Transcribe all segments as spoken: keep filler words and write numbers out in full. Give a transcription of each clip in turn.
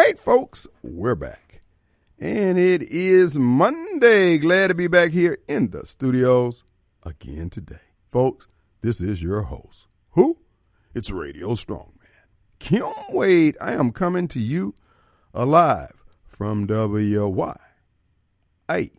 right, folks, we're back. And it is Monday. Glad to be back here in the studios again today. Folks, this is your host. Who? It's Radio Strongman. Kim Wade. I am coming to you alive from W Y A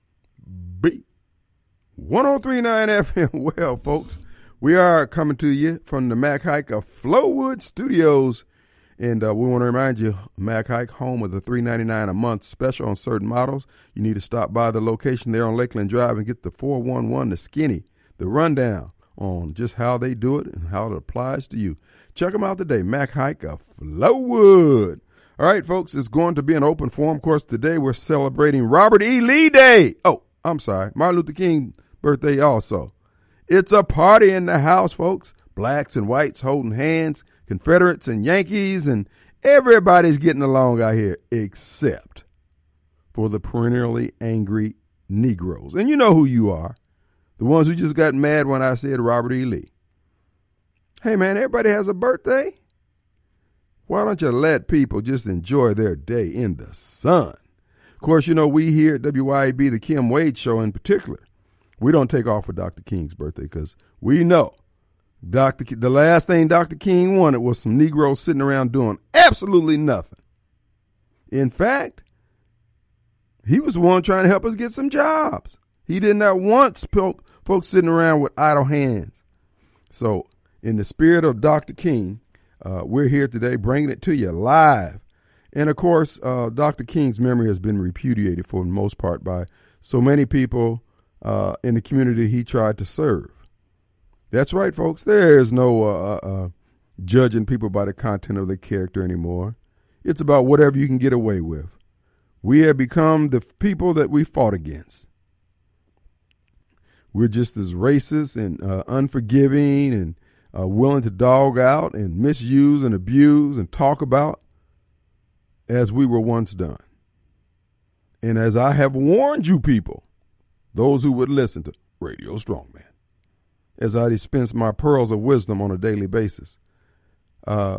B one oh three point nine F M. Well, folks, we are coming to you from the Mac Haik of Flowood Studios. And uh, we want to remind you, Mac Haik, home of the three ninety-nine a month special on certain models. You need to stop by the location there on Lakeland Drive and get the four one one, the skinny, the rundown on just how they do it and how it applies to you. Check them out today, Mac Haik of Flowood. All right, folks, it's going to be an open forum. Of course, today we're celebrating Robert E. Lee Day. Oh, I'm sorry, Martin Luther King birthday also. It's a party in the house, folks. Blacks and whites holding hands, Confederates and Yankees, and everybody's getting along out here except for the perennially angry Negroes. And you know who you are. The ones who just got mad when I said Robert E. Lee. Hey, man, everybody has a birthday. Why don't you let people just enjoy their day in the sun? Of course, you know, we here at W Y A B, the Kim Wade Show in particular, we don't take off for Doctor King's birthday because we know Doctor K- the last thing Doctor King wanted was some Negroes sitting around doing absolutely nothing. In fact, he was the one trying to help us get some jobs. He did not want sp- folks sitting around with idle hands. So in the spirit of Doctor King, uh, we're here today bringing it to you live. And, of course, uh, Doctor King's memory has been repudiated for the most part by so many people uh, in the community he tried to serve. That's right, folks. There is no uh, uh, judging people by the content of their character anymore. It's about whatever you can get away with. We have become the people that we fought against. We're just as racist and uh, unforgiving and uh, willing to dog out and misuse and abuse and talk about as we were once done. And as I have warned you people, those who would listen to Radio Strongman, as I dispense my pearls of wisdom on a daily basis, uh,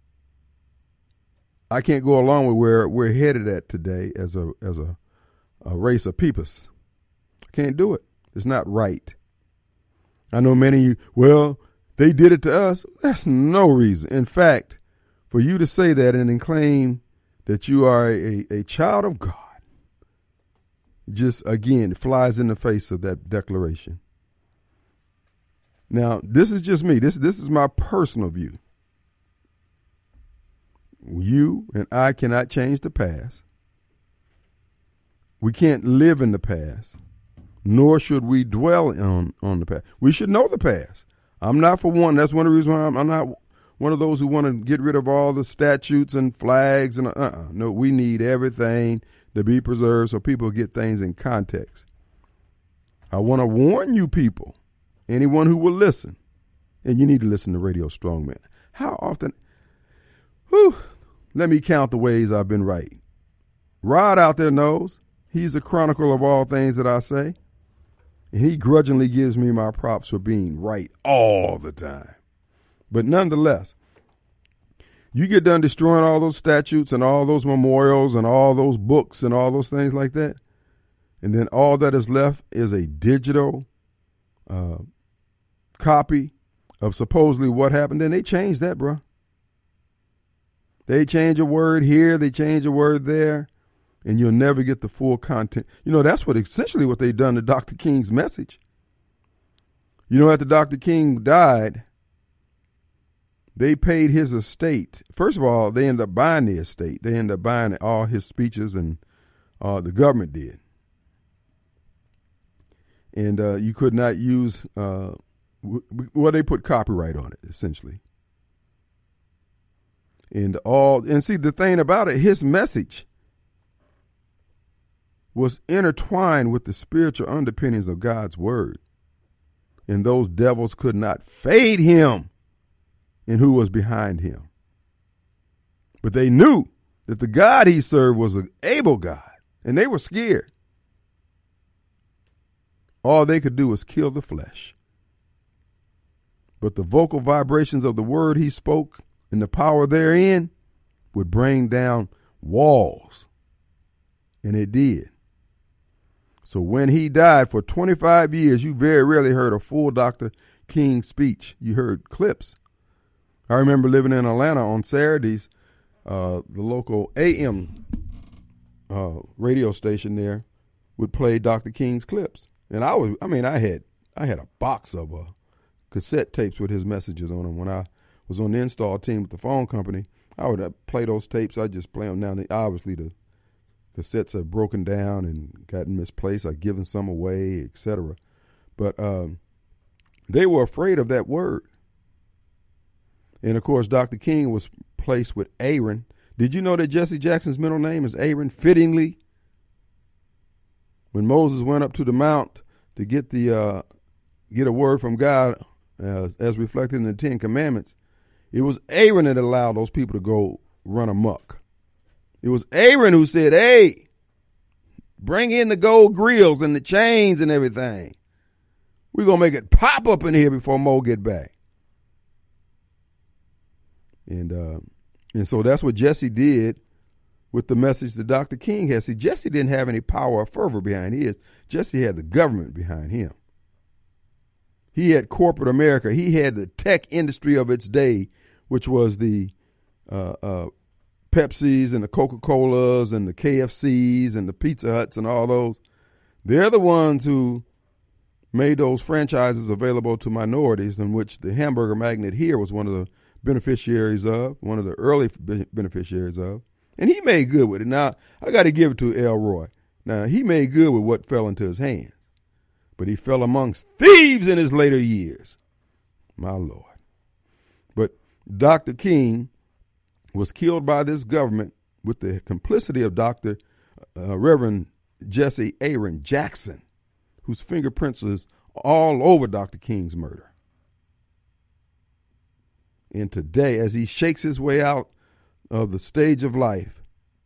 I can't go along with where we're headed at today as a as a, a race of peoples. I can't do it. It's not right. I know many of you, well, they did it to us. That's no reason. In fact, for you to say that and then claim that you are a, a child of God, just, again, flies in the face of that declaration. Now, this is just me. This, this is my personal view. You and I cannot change the past. We can't live in the past, nor should we dwell on, on the past. We should know the past. I'm not for one. That's one of the reasons why I'm, I'm not one of those who want to get rid of all the statutes and flags. and uh-uh. No, we need everything to be preserved so people get things in context. I want to warn you people, anyone who will listen, and you need to listen to Radio Strongman. How often, whew, let me count the ways I've been right. Rod out there knows he's a chronicle of all things that I say, and he grudgingly gives me my props for being right all the time. But nonetheless, you get done destroying all those statutes and all those memorials and all those books and all those things like that, and then all that is left is a digital uh, copy of supposedly what happened. Then they change that, bro. They change a word here, they change a word there, and you'll never get the full content. You know, that's what essentially what they done to Doctor King's message. You know, after Doctor King died, they paid his estate. First of all, they ended up buying the estate. They ended up buying all his speeches, and uh, the government did. And uh, you could not use, uh, well, they put copyright on it, essentially. And all, and see, the thing about it, his message was intertwined with the spiritual underpinnings of God's word. And those devils could not fade him and who was behind him. But they knew that the God he served was an able God, and they were scared. All they could do was kill the flesh. But the vocal vibrations of the word he spoke and the power therein would bring down walls. And it did. So when he died, for twenty-five years, you very rarely heard a full Doctor King speech. You heard clips. I remember living in Atlanta on Saturdays, uh, the local A M uh, radio station there would play Doctor King's clips. And I was, I mean, I had, I had a box of uh, cassette tapes with his messages on them. When I was on the install team with the phone company, I would uh, play those tapes. I'd just play them down. Obviously, the cassettes have broken down and gotten misplaced. I've given some away, et cetera. But um, they were afraid of that word. And, of course, Doctor King was placed with Aaron. Did you know that Jesse Jackson's middle name is Aaron, fittingly? When Moses went up to the mount to get the uh, get a word from God, uh, as reflected in the Ten Commandments, it was Aaron that allowed those people to go run amok. It was Aaron who said, hey, bring in the gold grills and the chains and everything. We're going to make it pop up in here before Mo get back. And uh, and so that's what Jesse did with the message that Doctor King had. See, Jesse didn't have any power or fervor behind his. Jesse had the government behind him. He had corporate America. He had the tech industry of its day, which was the uh, uh, Pepsis and the Coca-Colas and the K F Cs and the Pizza Huts and all those. They're the ones who made those franchises available to minorities, in which the hamburger magnate here was one of the beneficiaries of, one of the early beneficiaries of. And he made good with it. Now, I got to give it to Elroy. Now, he made good with what fell into his hands. But he fell amongst thieves in his later years. My Lord. But Doctor King was killed by this government with the complicity of Doctor Uh, Reverend Jesse Aaron Jackson, whose fingerprints is all over Doctor King's murder. And today, as he shakes his way out of the stage of life,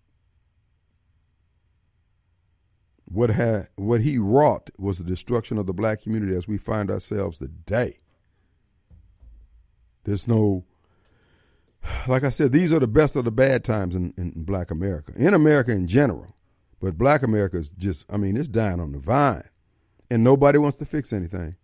what had what he wrought was the destruction of the black community as we find ourselves today. There's no, like I said, these are the best of the bad times in, in black America, in America in general. But black America is just, I mean, it's dying on the vine. And nobody wants to fix anything.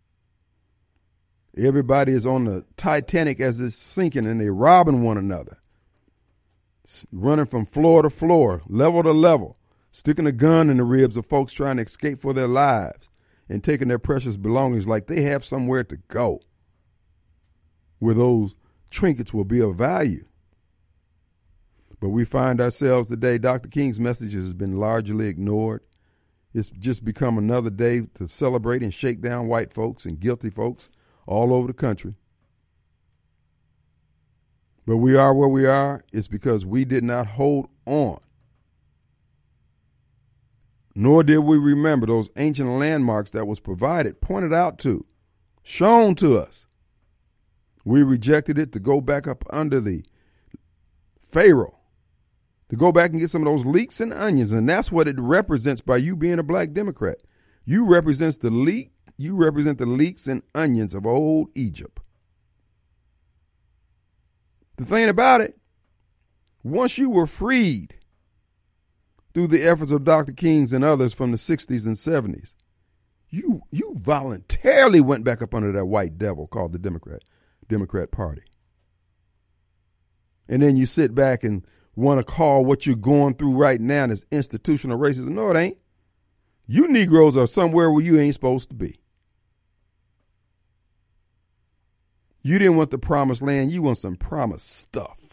Everybody is on the Titanic as it's sinking, and they're robbing one another. Running from floor to floor, level to level, sticking a gun in the ribs of folks trying to escape for their lives and taking their precious belongings like they have somewhere to go where those trinkets will be of value. But we find ourselves today, Doctor King's message has been largely ignored. It's just become another day to celebrate and shake down white folks and guilty folks all over the country. But we are where we are. It's because we did not hold on. Nor did we remember those ancient landmarks that was provided, pointed out to, shown to us. We rejected it to go back up under the Pharaoh, to go back and get some of those leeks and onions. And that's what it represents by you being a black Democrat. You represents the leek, you represent the leeks and onions of old Egypt. The thing about it, once you were freed through the efforts of Doctor King's and others from the sixties and seventies, you you voluntarily went back up under that white devil called the Democrat Democrat Party. And then you sit back and want to call what you're going through right now as institutional racism. No, it ain't. You Negroes are somewhere where you ain't supposed to be. You didn't want the promised land. You want some promised stuff.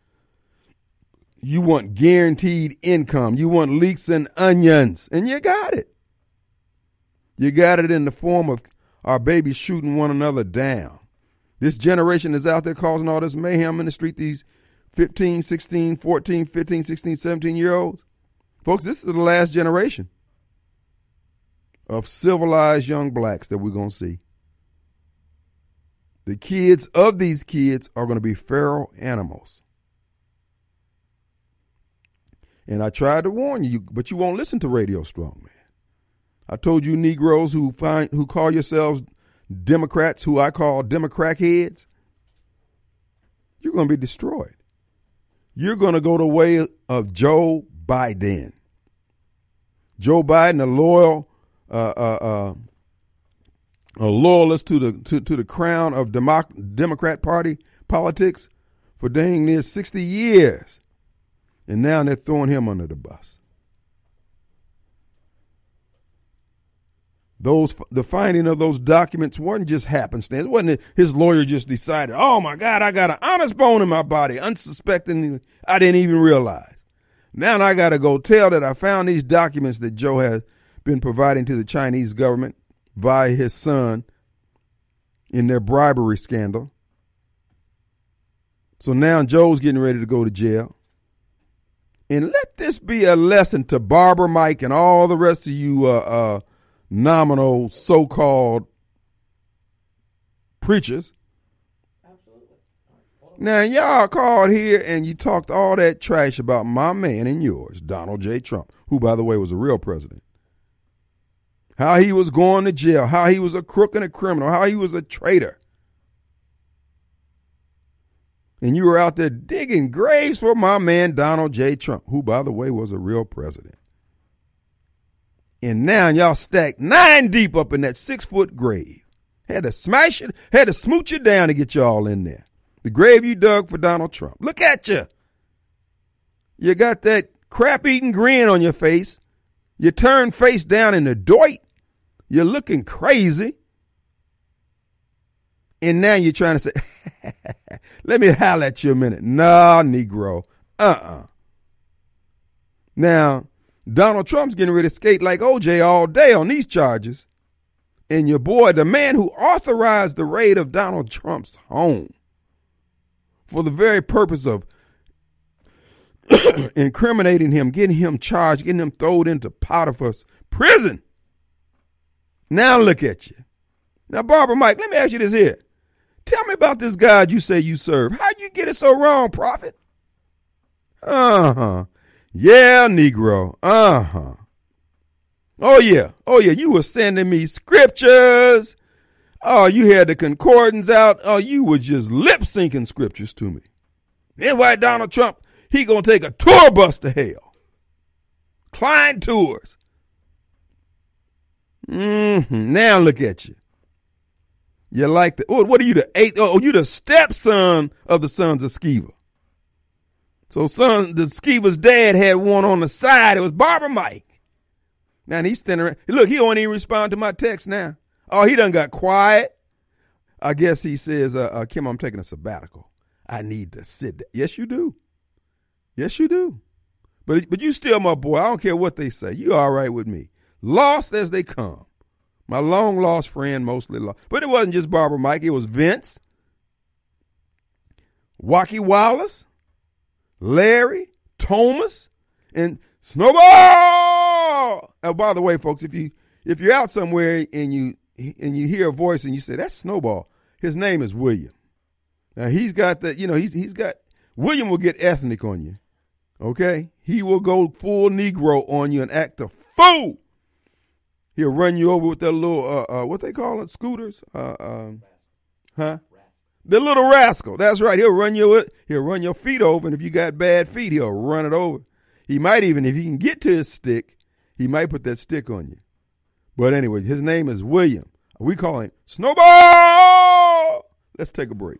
You want guaranteed income. You want leeks and onions. And you got it. You got it in the form of our babies shooting one another down. This generation is out there causing all this mayhem in the street, these fifteen, sixteen, fourteen, fifteen, sixteen, seventeen year olds. Folks, this is the last generation of civilized young blacks that we're going to see. The kids of these kids are going to be feral animals. And I tried to warn you, but you won't listen to Radio Strongman. I told you Negroes who find who call yourselves Democrats, who I call Democrat heads, you're going to be destroyed. you're going to go the way of Joe Biden. Joe Biden, a loyal, uh, uh, uh, a loyalist to the to, to the crown of Democ- Democrat Party politics for dang near sixty years, and now they're throwing him under the bus. Those the finding of those documents wasn't just happenstance. It wasn't his lawyer just decided, oh my God, I got an honest bone in my body, unsuspecting I didn't even realize. Now I got to go tell that I found these documents that Joe has been providing to the Chinese government via his son in their bribery scandal. So now Joe's getting ready to go to jail. And let this be a lesson to Barbara Mike and all the rest of you uh, uh, nominal so-called preachers. Now, y'all called here and you talked all that trash about my man and yours, Donald J. Trump, who, by the way, was a real president. How he was going to jail, how he was a crook and a criminal, how he was a traitor. And you were out there digging graves for my man, Donald J. Trump, who, by the way, was a real president. And now y'all stacked nine deep up in that six-foot grave. Had to smash it, had to smooch it down to get y'all in there. The grave you dug for Donald Trump. Look at you. You got that crap-eating grin on your face. You turned face down in the doit. You're looking crazy. And now you're trying to say, let me holler at you a minute. Nah, Negro. Uh-uh. Now, Donald Trump's getting ready to skate like O J all day on these charges. And your boy, the man who authorized the raid of Donald Trump's home for the very purpose of incriminating him, getting him charged, getting him thrown into Potiphar's prison. Now look at you. Now, Barbara Mike, let me ask you this here. Tell me about this God you say you serve. How'd you get it so wrong, prophet? Uh-huh. Yeah, Negro. Uh-huh. Oh, yeah. Oh, yeah. You were sending me scriptures. Oh, you had the concordance out. Oh, you were just lip-syncing scriptures to me. Then why Donald Trump, he gonna take a tour bus to hell. Klein Tours. Mm-hmm. Now look at you. You like the, oh, what are you, the eighth? Oh, you the stepson of the sons of Sceva. So son, the Skeeva's dad had one on the side. It was Barbara Mike. Now he's standing around. Look, he don't even respond to my text now. Oh, he done got quiet. I guess he says, uh, uh, Kim, I'm taking a sabbatical. I need to sit down. Yes, you do. Yes, you do. But, but you still my boy. I don't care what they say. You all right with me. Lost as they come. My long lost friend, mostly lost. But it wasn't just Barbara Mike. It was Vince, Wacky Wallace, Larry, Thomas, and Snowball. And by the way, folks, if you if you're out somewhere and you and you hear a voice and you say that's Snowball, his name is William. Now he's got the, you know, he's he's got William will get ethnic on you. Okay? He will go full Negro on you and act a fool. He'll run you over with that little uh, uh what they call it, scooters? Uh um, huh? The little rascal. That's right. He'll run you he'll run your feet over, and if you got bad feet, he'll run it over. He might even, if he can get to his stick, he might put that stick on you. But anyway, his name is William. We call him Snowball. Let's take a break.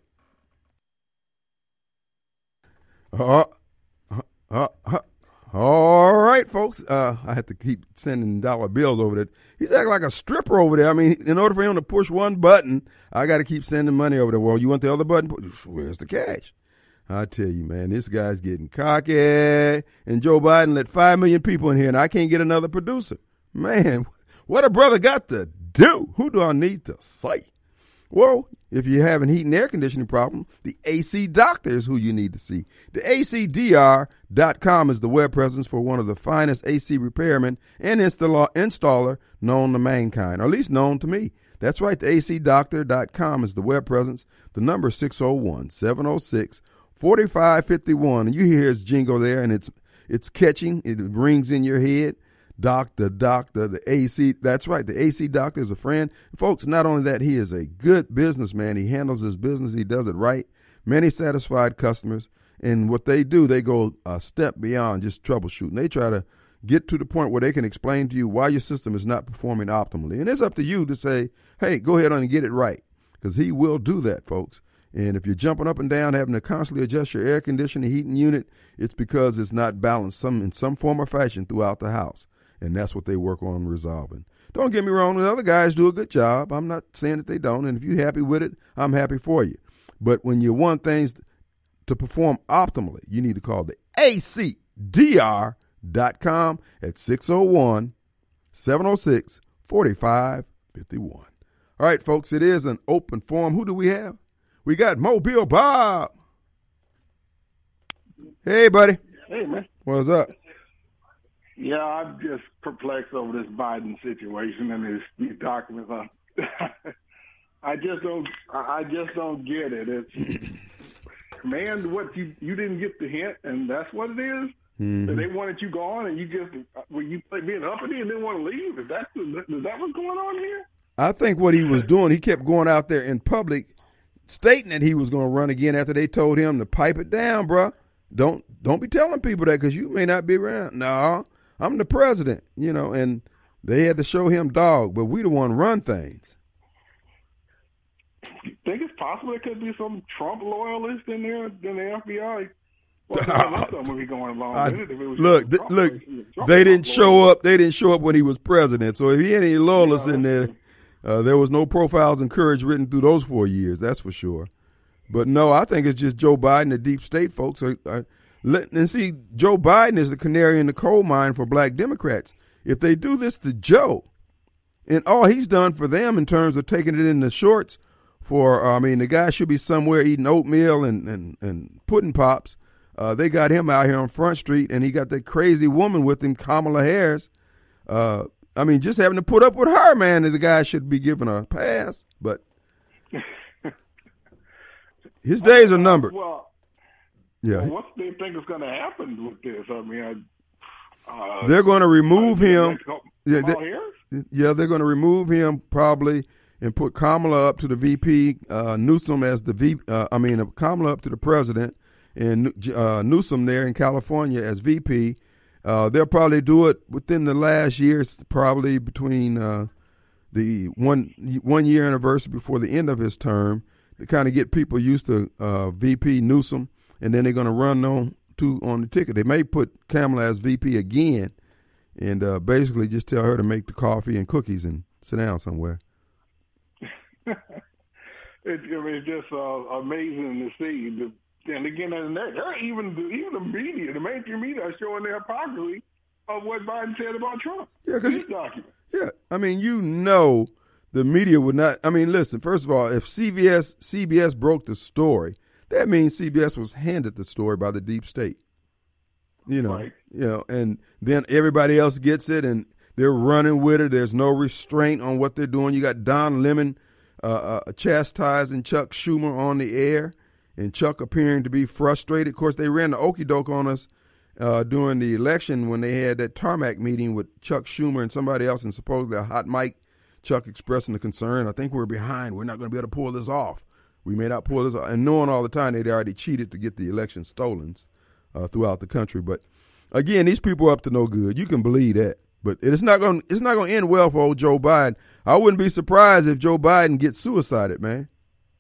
Uh, uh, uh, uh, all right, folks. Uh, I have to keep sending dollar bills over there. He's acting like a stripper over there. I mean, in order for him to push one button, I got to keep sending money over there. Well, you want the other button? Where's the cash? I tell you, man, this guy's getting cocky. And Joe Biden let five million people in here, and I can't get another producer. Man, what a brother got to do. Who do I need to say? Well, if you have a heat and air conditioning problem, the A C Doctor is who you need to see. The A C D R dot com is the web presence for one of the finest A C repairmen and installer, installer known to mankind, or at least known to me. That's right, the A C Doctor dot com is the web presence. The number is six oh one, seven oh six, four five five one. And you hear his jingle there, and it's it's catching. It rings in your head. Doctor, doctor, the A C. That's right. The A C Doctor is a friend. Folks, not only that, he is a good businessman. He handles his business. He does it right. Many satisfied customers. And what they do, they go a step beyond just troubleshooting. They try to get to the point where they can explain to you why your system is not performing optimally. And it's up to you to say, hey, go ahead on and get it right, because he will do that, folks. And if you're jumping up and down, having to constantly adjust your air conditioning, heating unit, it's because it's not balanced some in some form or fashion throughout the house. And that's what they work on resolving. Don't get me wrong, the other guys do a good job. I'm not saying that they don't. And if you're happy with it, I'm happy for you. But when you want things to perform optimally, you need to call the A C D R dot com at six oh one, seven oh six, four five five one. All right, folks, it is an open forum. Who do we have? We got Mobile Bob. Hey, buddy. Hey, man. What's up? Yeah, I'm just perplexed over this Biden situation and his these documents. I just don't. I just don't get it. It's man, what you you didn't get the hint, and that's what it is. Mm-hmm. They wanted you gone, and you just were you being uppity and didn't want to leave. Is that is that what's going on here? I think what he was doing, he kept going out there in public, stating that he was going to run again after they told him to pipe it down, bro. Don't don't be telling people that because you may not be around. No, I'm the president, you know, and they had to show him dog, but we the one run things. You think it's possible there could be some Trump loyalist in there in the F B I? Well, something be going along I, with it. If it was look, th- Trump, look, Trump they didn't show loyalist. up. They didn't show up when he was president. So if he had any loyalists Yeah, in there, uh, there was no profiles in courage written through those four years. That's for sure. But no, I think it's just Joe Biden, the deep state folks. Are, are, let, and see, Joe Biden is the canary in the coal mine for black Democrats. If they do this to Joe, and all he's done for them in terms of taking it in the shorts for, uh, I mean, the guy should be somewhere eating oatmeal and, and, and pudding pops. Uh, they got him out here on Front Street, and he got that crazy woman with him, Kamala Harris. Uh, I mean, just having to put up with her, man, the guy should be given a pass. But his days are numbered. Well, yeah. Well, what do they think is going to happen with this? I mean, I, uh, they're going to remove him. Yeah, they, they, yeah, they're going to remove him probably and put Kamala up to the V P, uh, Newsom as the V. Uh, I mean, Kamala up to the president, and uh, Newsom there in California as V P. Uh, they'll probably do it within the last year, probably between uh, the one one year anniversary before the end of his term, to kind of get people used to uh, V P Newsom, and then they're going to run on to on the ticket. They may put Kamala as V P again, and uh, basically just tell her to make the coffee and cookies and sit down somewhere. it, I mean, it's just uh, amazing to see. The, and again, and they're, they're even even the media, the mainstream media, are showing their hypocrisy of what Biden said about Trump. Yeah, because document. Yeah, I mean, you know, the media would not. I mean, listen. First of all, if C B S C B S broke the story, that means C B S was handed the story by the deep state. You know, right. you know, and then everybody else gets it, and they're running with it. There's no restraint on what they're doing. You got Don Lemon uh, uh, chastising Chuck Schumer on the air, and Chuck appearing to be frustrated. Of course, they ran the okie doke on us uh, during the election when they had that tarmac meeting with Chuck Schumer and somebody else, and supposedly a hot mic. Chuck expressing the concern, I think we're behind. We're not going to be able to pull this off. We may not pull this off. And knowing all the time they'd already cheated to get the election stolen uh, throughout the country. But again, these people are up to no good. You can believe that. But it's not going. It's not going to end well for old Joe Biden. I wouldn't be surprised if Joe Biden gets suicided, man.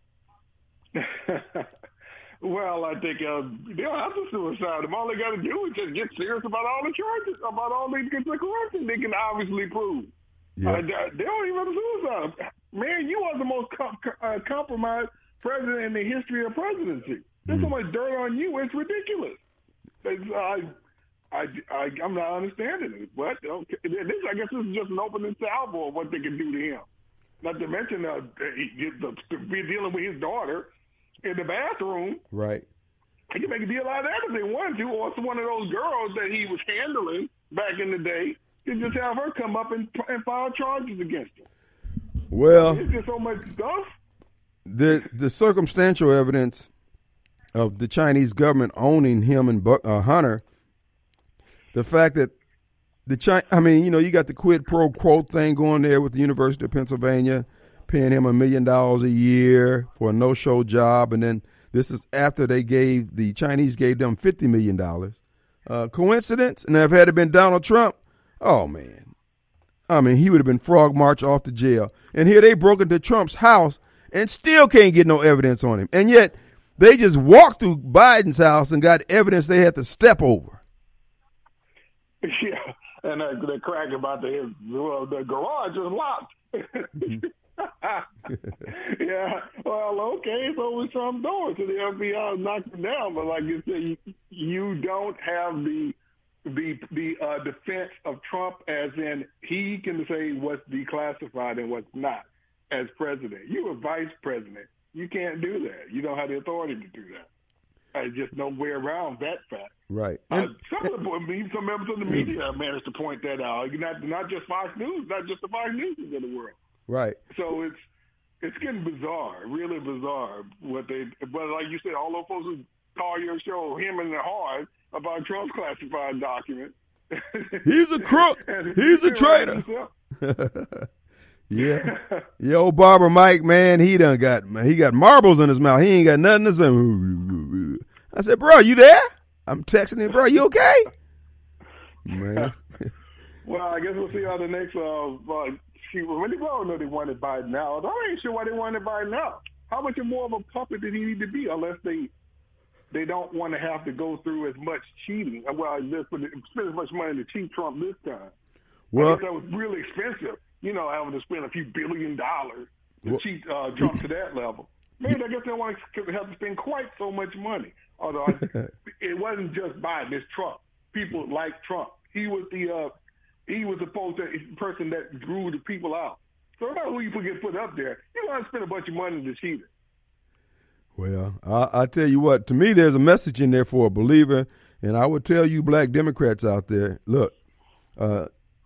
Well, I think uh, they'll have to suicide him. All they got to do is just get serious about all the charges, about all these corruption they can obviously prove. Yeah. Uh, they don't even have to suicide. Man, you are the most com- uh, compromised president in the history of presidency. There's mm. so much dirt on you, it's ridiculous. It's, uh, I, I, I'm not understanding it. But okay, this, I guess this is just an opening salvo of what they can do to him. Not to mention uh, he, the, to be dealing with his daughter in the bathroom. Right. He can make a deal out of that if they wanted to, or it's one of those girls that he was handling back in the day. You just have her come up and, and file charges against him. Well, it's just so much stuff. The the circumstantial evidence of the Chinese government owning him and uh, Hunter, the fact that the China, I mean, you know, you got the quid pro quo thing going there with the University of Pennsylvania, paying him a million dollars a year for a no-show job, and then the This is after they gave, the Chinese gave them fifty million dollars. Uh, coincidence? Now, if it had been Donald Trump, oh, man. I mean, he would have been frog marched off to jail. And here they broke into Trump's house and still can't get no evidence on him. And yet they just walked through Biden's house and got evidence they had to step over. Yeah, and uh, the crack about the, well, the garage is locked. Mm-hmm. Yeah, well, okay, so we some doors to the F B I knocked it down, but like you said, you, you don't have the the the uh, defense of Trump, as in he can say what's declassified and what's not as president. You're a vice president. You can't do that. You don't have the authority to do that. There's just no way around that fact. Right. Uh, some of the, I mean, some members of the media managed to point that out. Not not just Fox News, not just the Fox News of the world. Right. So it's it's getting bizarre, really bizarre. What they, but like you said, all those folks who call your show him and the hard about Trump's classified document. He's a crook. He's a traitor. Yeah. Yeah, old Barber Mike, man, he done got he got marbles in his mouth. He ain't got nothing to say. I said, bro, you there? I'm texting him, bro, you okay? Man. Well, I guess we'll see how the next uh, uh she really well know they wanted Biden out. I ain't sure why they wanted Biden out. How much more of a puppet did he need to be unless they they don't want to have to go through as much cheating? Well, just spend as much money to cheat Trump this time. Well, I guess that was really expensive. You know, having to spend a few billion dollars to well, cheat uh, Trump to that level. Maybe I guess they don't want to have to spend quite so much money. Although it wasn't just Biden, it's Trump. People like Trump. He was the uh, he was supposed to the person that drew the people out. So no matter who you get put up there, you don't want to spend a bunch of money to cheat it. Well, I, I tell you what, to me, there's a message in there for a believer, and I would tell you black Democrats out there, look, uh,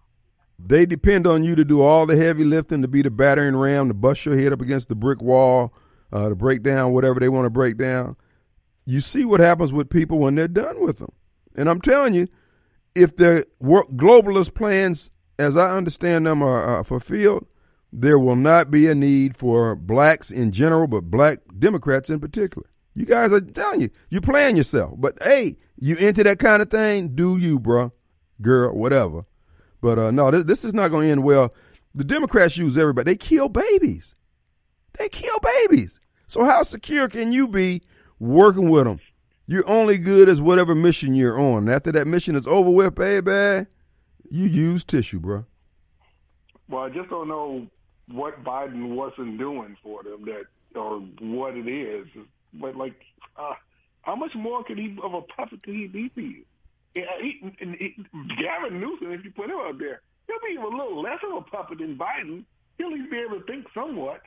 they depend on you to do all the heavy lifting, to be the battering ram, to bust your head up against the brick wall, uh, to break down whatever they want to break down. You see what happens with people when they're done with them. And I'm telling you, if their work, globalist plans, as I understand them, are, are fulfilled, there will not be a need for blacks in general, but black Democrats in particular. You guys are telling you, you're playing yourself. But, hey, you into that kind of thing, do you, bro, girl, whatever. But, uh, no, this, this is not going to end well. The Democrats use everybody. They kill babies. They kill babies. So how secure can you be working with them? You're only good as whatever mission you're on. After that mission is over with, baby, you use tissue, bro. Well, I just don't know what Biden wasn't doing for them, that or what it is. But, like, uh, how much more could he of a puppet could he be for you? Yeah, he, and he, Gavin Newsom, if you put him up there, he'll be a little less of a puppet than Biden. He'll at least be able to think somewhat.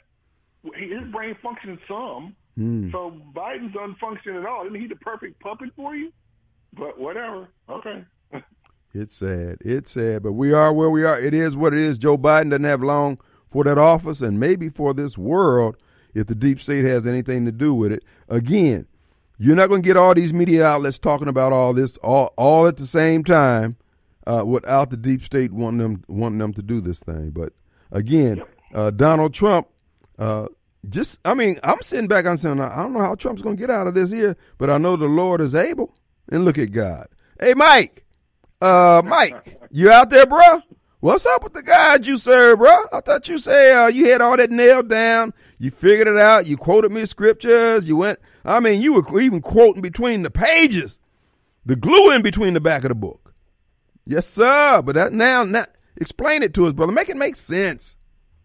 His brain functions some. Mm. So Biden's doesn't function at all. Isn't he the perfect puppet for you? But whatever. Okay. It's sad. It's sad. But we are where we are. It is what it is. Joe Biden doesn't have long for that office, and maybe for this world if the deep state has anything to do with it. Again, you're not going to get all these media outlets talking about all this all, all at the same time uh, without the deep state wanting them wanting them to do this thing. But again, yep. uh, Donald Trump, uh, just I mean, I'm sitting back, I'm saying, I don't know how Trump's going to get out of this here, but I know the Lord is able. And look at God. Hey, Mike, uh, Mike, you out there, bro? What's up with the God you serve, bro? I thought you said uh, you had all that nailed down. You figured it out. You quoted me scriptures. You went, I mean, you were even quoting between the pages, the glue in between the back of the book. Yes, sir. But that now, now explain it to us, brother. Make it make sense.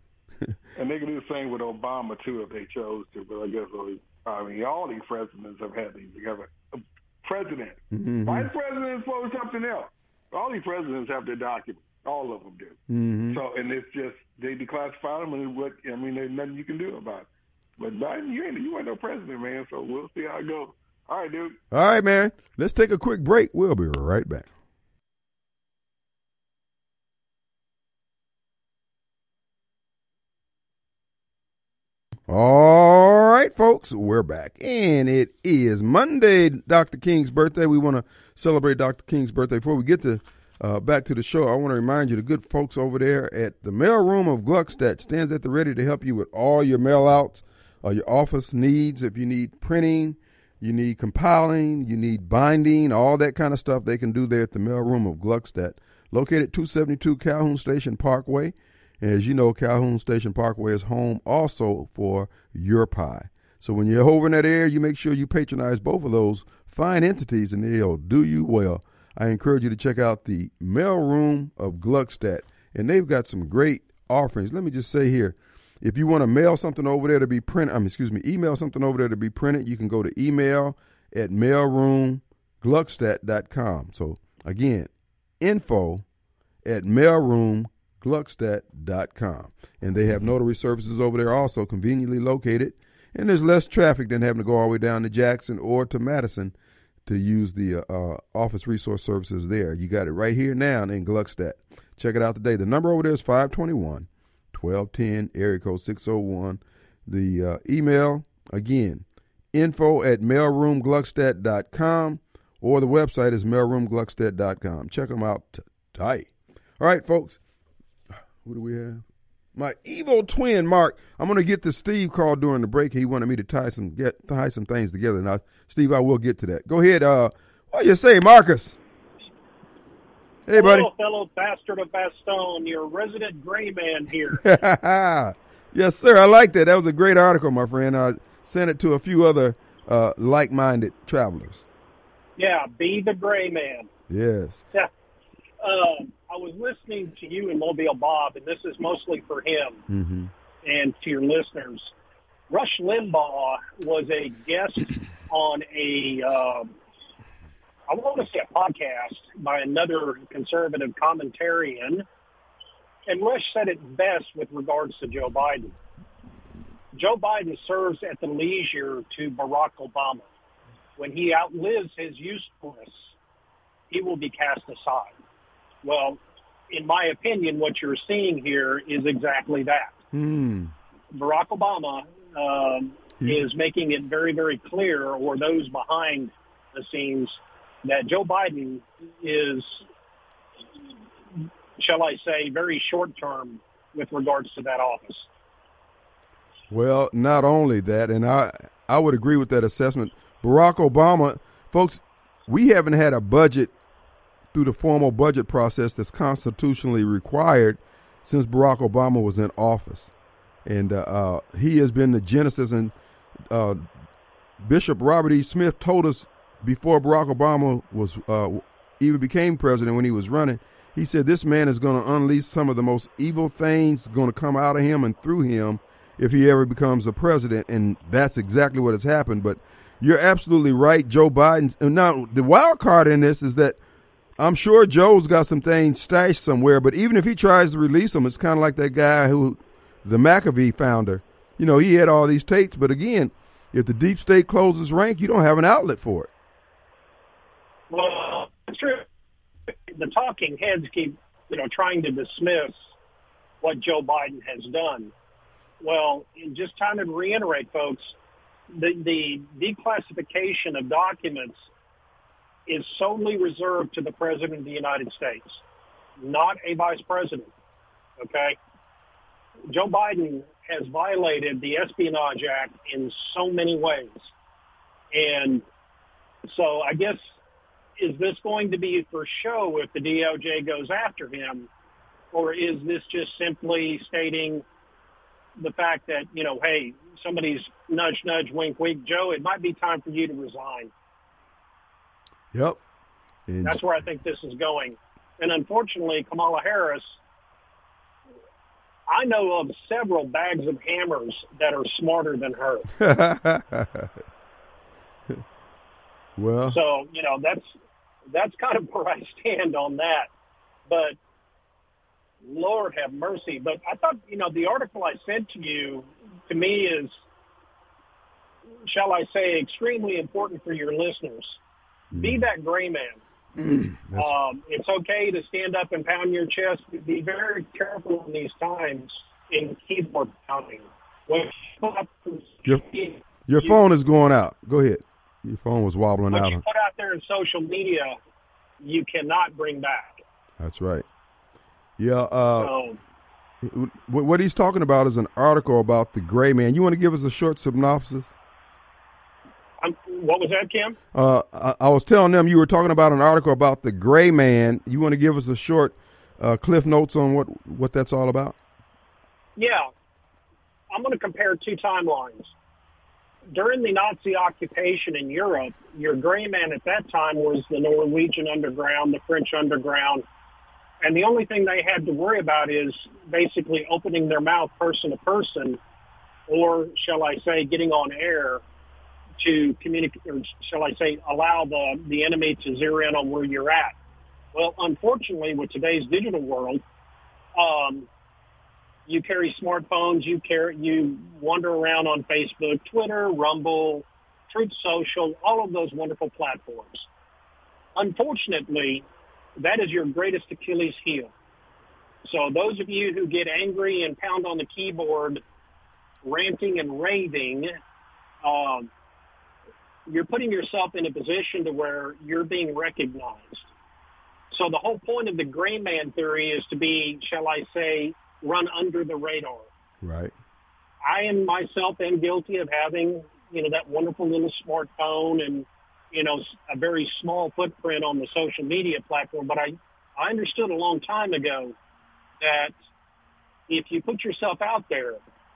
And they can do the same with Obama, too, if they chose to. But I guess, I mean, all these presidents have had these together. President. Mm-hmm. Vice president is for something else. All these presidents have their documents. All of them do. Mm-hmm. So, and it's just, they declassify them, and what, I mean, there's nothing you can do about it. But Biden, you ain't, you ain't no president, man, so we'll see how it goes. All right, dude. All right, man. Let's take a quick break. We'll be right back. All right, folks, we're back, and it is Monday, Doctor King's birthday. We want to celebrate Doctor King's birthday. Before we get to uh, back to the show, I want to remind you, the good folks over there at the mail room of Gluckstadt stands at the ready to help you with all your mail outs, uh, your office needs. If you need printing, you need compiling, you need binding, all that kind of stuff they can do there at the mailroom of Gluckstadt, located two seventy-two Calhoun Station Parkway. As you know, Calhoun Station Parkway is home also for Your Pie. So when you're over in that area, you make sure you patronize both of those fine entities, and they'll do you well. I encourage you to check out the mailroom of Gluckstadt, and they've got some great offerings. Let me just say here, if you want to mail something over there to be printed, I mean, excuse me, email something over there to be printed, you can go to email at mailroom gluckstadt dot com. So again, info at mailroom gluckstadt dot com. And they have notary services over there also conveniently located. And there's less traffic than having to go all the way down to Jackson or to Madison to use the uh, office resource services there. You got it right here now in Gluckstadt. Check it out today. The number over there is five two one, one two one zero, area code six oh one. The uh, email, again, info at mailroom gluckstadt dot com, or the website is mailroom gluckstadt dot com. Check them out today. All right, folks. What do we have? My evil twin, Mark. I'm going to get to Steve call during the break. He wanted me to tie some get tie some things together. Now, Steve, I will get to that. Go ahead. Uh, what do you say, Marcus? Hey, Hello, buddy. Fellow bastard of Bastogne, your resident gray man here. Yes, sir. I like that. That was a great article, my friend. I sent it to a few other uh, like-minded travelers. Yeah, be the gray man. Yes. Yeah. Uh, I was listening to you and Mobile Bob, and this is mostly for him Mm-hmm. and to your listeners. Rush Limbaugh was a guest on a, uh, I want to say a podcast by another conservative commentarian, and Rush said it best with regards to Joe Biden. Joe Biden serves at the leisure to Barack Obama. When he outlives his usefulness, he will be cast aside. Well, in my opinion, what you're seeing here is exactly that. Hmm. Barack Obama um, is making it very, very clear, or those behind the scenes, that Joe Biden is, shall I say, very short-term with regards to that office. Well, not only that, and I, I would agree with that assessment. Barack Obama, folks, we haven't had a budget through the formal budget process that's constitutionally required since Barack Obama was in office. And uh, uh, he has been the genesis, and uh, Bishop Robert E. Smith told us before Barack Obama was uh, even became president, when he was running, he said this man is going to unleash some of the most evil things going to come out of him and through him if he ever becomes a president. And that's exactly what has happened. But you're absolutely right, Joe Biden. Now, the wild card in this is that I'm sure Joe's got some things stashed somewhere, but even if he tries to release them, it's kind of like that guy who, the McAfee founder, you know, he had all these tapes, but again, if the deep state closes rank, you don't have an outlet for it. Well, it's true. The talking heads keep, you know, trying to dismiss what Joe Biden has done. Well, just time to reiterate, folks, the, the declassification of documents is solely reserved to the President of the United States, not a vice president, okay? Joe Biden has violated the Espionage Act in so many ways. And so I guess, is this going to be for show if the D O J goes after him, or is this just simply stating the fact that, you know, hey, somebody's nudge, nudge, wink, wink, Joe, it might be time for you to resign. Yep. And that's where I think this is going. And unfortunately, Kamala Harris, I know of several bags of hammers that are smarter than her. Well, so, you know, that's that's kind of where I stand on that. But Lord have mercy. But I thought, you know, the article I sent to you, to me, is, shall I say, extremely important for your listeners. Mm. Be that gray man. Mm, um, it's okay to stand up and pound your chest. Be very careful in these times in keyboard pounding. When you your your you, phone is going out. Go ahead. Your phone was wobbling what out. What you put out there in social media, you cannot bring back. That's right. Yeah. Uh, so, what, what he's talking about is an article about the gray man. You want to give us a short synopsis? I'm, What was that, Kim? Uh, I, I was telling them you were talking about an article about the gray man. You want to give us a short uh, cliff notes on what, what that's all about? Yeah. I'm going to compare two timelines. During the Nazi occupation in Europe, your gray man at that time was the Norwegian underground, the French underground, and the only thing they had to worry about is basically opening their mouth person to person, or shall I say getting on air to communicate, or shall I say allow the, the enemy to zero in on where you're at. Well, unfortunately, with today's digital world, um, you carry smartphones, you carry, you wander around on Facebook, Twitter, Rumble, Truth Social, all of those wonderful platforms. Unfortunately, that is your greatest Achilles heel. So those of you who get angry and pound on the keyboard, ranting and raving, um, you're putting yourself in a position to where you're being recognized. So the whole point of the gray man theory is to be, shall I say, run under the radar. Right. I am myself am guilty of having, you know, that wonderful little smartphone and, you know, a very small footprint on the social media platform. But I, I understood a long time ago that if you put yourself out there,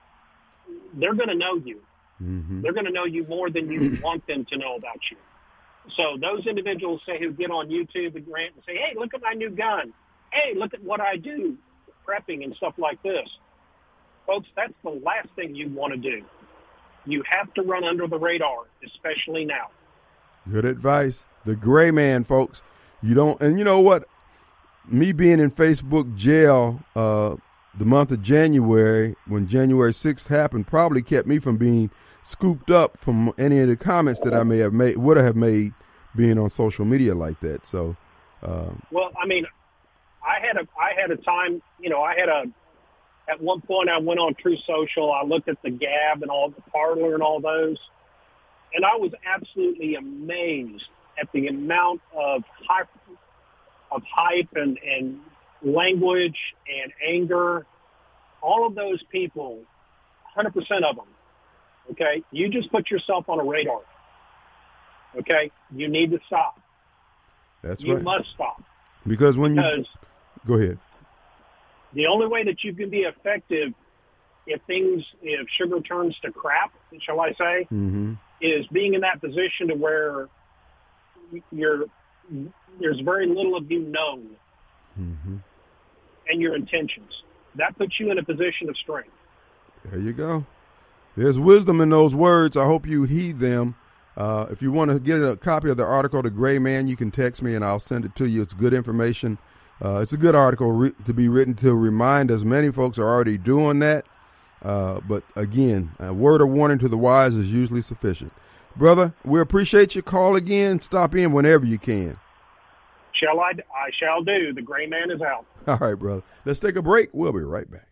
they're going to know you. Mm-hmm. They're going to know you more than you want them to know about you. So those individuals say who get on YouTube and rant and say, hey, look at my new gun. Hey, look at what I do, prepping and stuff like this. Folks, that's the last thing you want to do. You have to run under the radar, especially now. Good advice. The gray man, folks. You don't, and you know what? Me being in Facebook jail uh, the month of January, when January sixth happened, probably kept me from being scooped up from any of the comments that I may have made, would have made being on social media like that. So, uh, well, I mean, I had a, I had a time, you know, I had a, at one point I went on True Social. I looked at the Gab and all the Parler and all those, and I was absolutely amazed at the amount of hype, of hype and, and language and anger. All of those people, one hundred percent of them. Okay, you just put yourself on a radar. Okay, you need to stop. That's you right. You must stop. Because when because you go ahead, the only way that you can be effective if things, if sugar turns to crap, shall I say, mm-hmm. is being in that position to where you're there's very little of you known, mm-hmm. and your intentions. That puts you in a position of strength. There you go. There's wisdom in those words. I hope you heed them. Uh, if you want to get a copy of the article, The Gray Man, you can text me and I'll send it to you. It's good information. Uh, it's a good article re- to be written to remind us. Many folks are already doing that. Uh, but again, a word of warning to the wise is usually sufficient. Brother, we appreciate your call again. Stop in whenever you can. Shall I? I shall do. The Gray Man is out. All right, brother. Let's take a break. We'll be right back.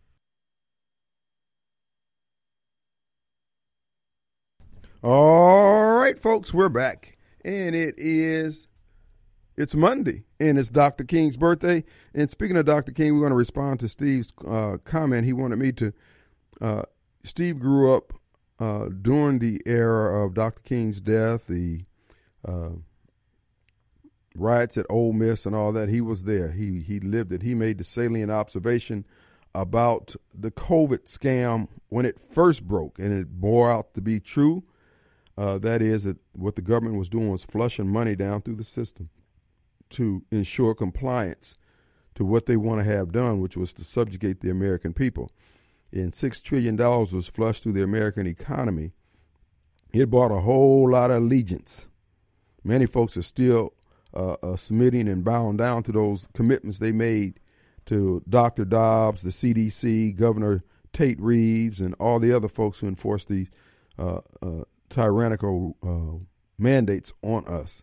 All right, folks, we're back. And it is, it's Monday, and it's Doctor King's birthday. And speaking of Doctor King, we're going to respond to Steve's uh, comment. He wanted me to, uh, Steve grew up uh, during the era of Doctor King's death, the uh, riots at Ole Miss and all that. He was there. He, he lived it. He made the salient observation about the COVID scam when it first broke, and it bore out to be true. Uh, that is that what the government was doing was flushing money down through the system to ensure compliance to what they want to have done, which was to subjugate the American people. And six trillion dollars was flushed through the American economy. It bought a whole lot of allegiance. Many folks are still uh, uh, submitting and bowing down to those commitments they made to Doctor Dobbs, the C D C, Governor Tate Reeves, and all the other folks who enforced the uh, uh, tyrannical uh, mandates on us.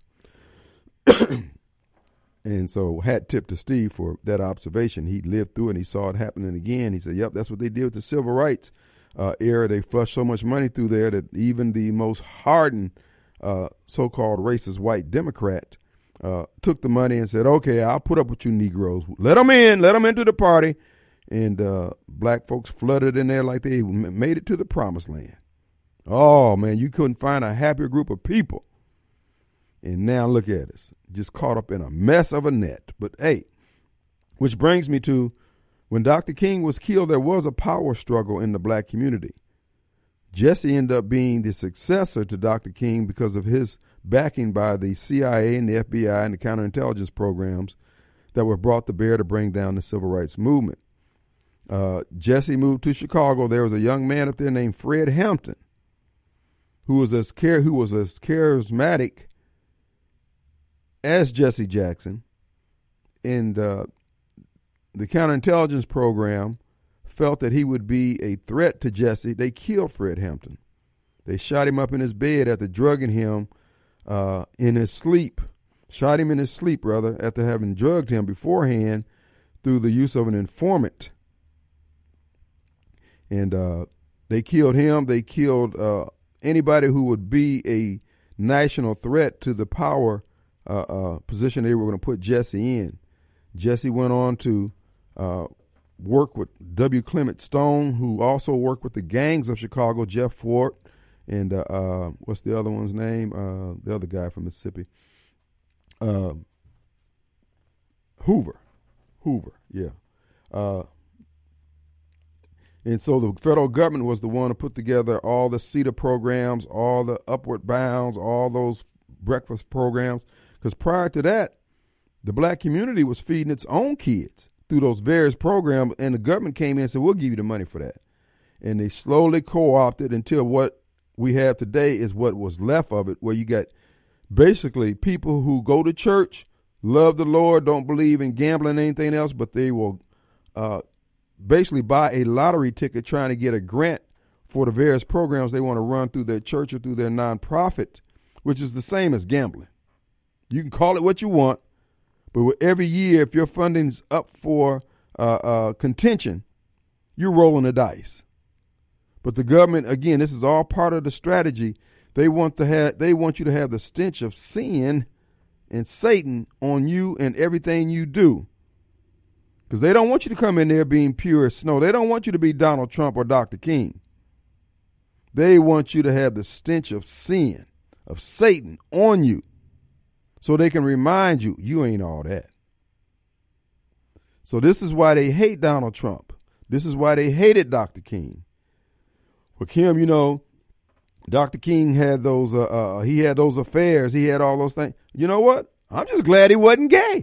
And so hat tip to Steve for that observation. He lived through it and he saw it happening again. He said, yep, that's what they did with the civil rights uh, era. They flushed so much money through there that even the most hardened uh, so-called racist white Democrat uh, took the money and said, okay, I'll put up with you Negroes. Let them in. Let them into the party. And uh, black folks flooded in there like they made it to the promised land. Oh, man, you couldn't find a happier group of people. And now look at us, just caught up in a mess of a net. But hey, which brings me to when Doctor King was killed, there was a power struggle in the black community. Jesse ended up being the successor to Doctor King because of his backing by the C I A and the F B I and the counterintelligence programs that were brought to bear to bring down the civil rights movement. Uh, Jesse moved to Chicago. There was a young man up there named Fred Hampton, who was as char- who was as charismatic as Jesse Jackson, and uh, the counterintelligence program felt that he would be a threat to Jesse. They killed Fred Hampton. They shot him up in his bed after drugging him uh, in his sleep. Shot him in his sleep, rather, after having drugged him beforehand through the use of an informant. And uh, they killed him. They killed uh, anybody who would be a national threat to the power uh, uh, position they were going to put Jesse in. Jesse went on to uh, work with W. Clement Stone, who also worked with the gangs of Chicago, Jeff Fort, and uh, uh, what's the other one's name? Uh, the other guy from Mississippi. Uh, Hoover. Hoover, yeah. Uh, and so the federal government was the one to put together all the CETA programs, all the Upward Bounds, all those breakfast programs. Because prior to that, the black community was feeding its own kids through those various programs, and the government came in and said, we'll give you the money for that. And they slowly co-opted until what we have today is what was left of it, where you got basically people who go to church, love the Lord, don't believe in gambling or anything else, but they will uh, basically buy a lottery ticket trying to get a grant for the various programs they want to run through their church or through their nonprofit, which is the same as gambling. You can call it what you want, but every year, if your funding's up for uh, uh, contention, you're rolling the dice. But the government, again, this is all part of the strategy. They want to have, they want you to have the stench of sin and Satan on you and everything you do. Because they don't want you to come in there being pure as snow. They don't want you to be Donald Trump or Doctor King. They want you to have the stench of sin, of Satan on you, so they can remind you, you ain't all that. So this is why they hate Donald Trump. This is why they hated Doctor King. Well, Kim, you know, Doctor King had those, uh, uh, he had those affairs. He had all those things. You know what? I'm just glad he wasn't gay.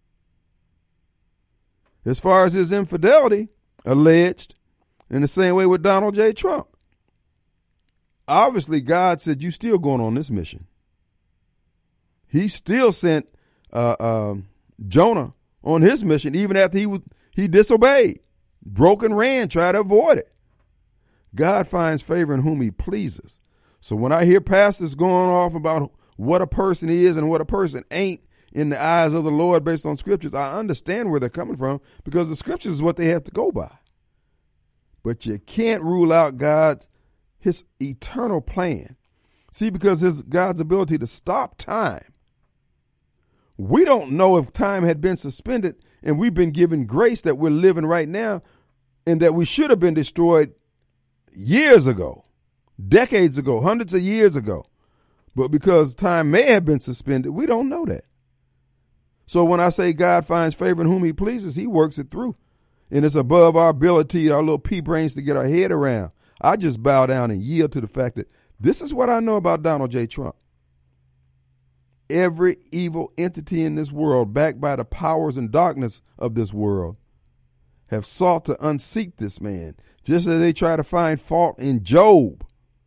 As far as his infidelity, alleged, in the same way with Donald J. Trump. Obviously, God said, you still going on this mission. He still sent uh, uh, Jonah on his mission, even after he was, he disobeyed, broke and ran, tried to avoid it. God finds favor in whom he pleases. So when I hear pastors going off about what a person is and what a person ain't in the eyes of the Lord based on scriptures, I understand where they're coming from, because the scriptures is what they have to go by. But you can't rule out God's, his eternal plan. See, because his God's ability to stop time. We don't know if time had been suspended and we've been given grace that we're living right now, and that we should have been destroyed years ago, decades ago, hundreds of years ago. But because time may have been suspended, we don't know that. So when I say God finds favor in whom he pleases, he works it through. And it's above our ability, our little pea brains, to get our head around. I just bow down and yield to the fact that this is what I know about Donald J. Trump. Every evil entity in this world, backed by the powers and darkness of this world, have sought to unseat this man, just as they try to find fault in Job.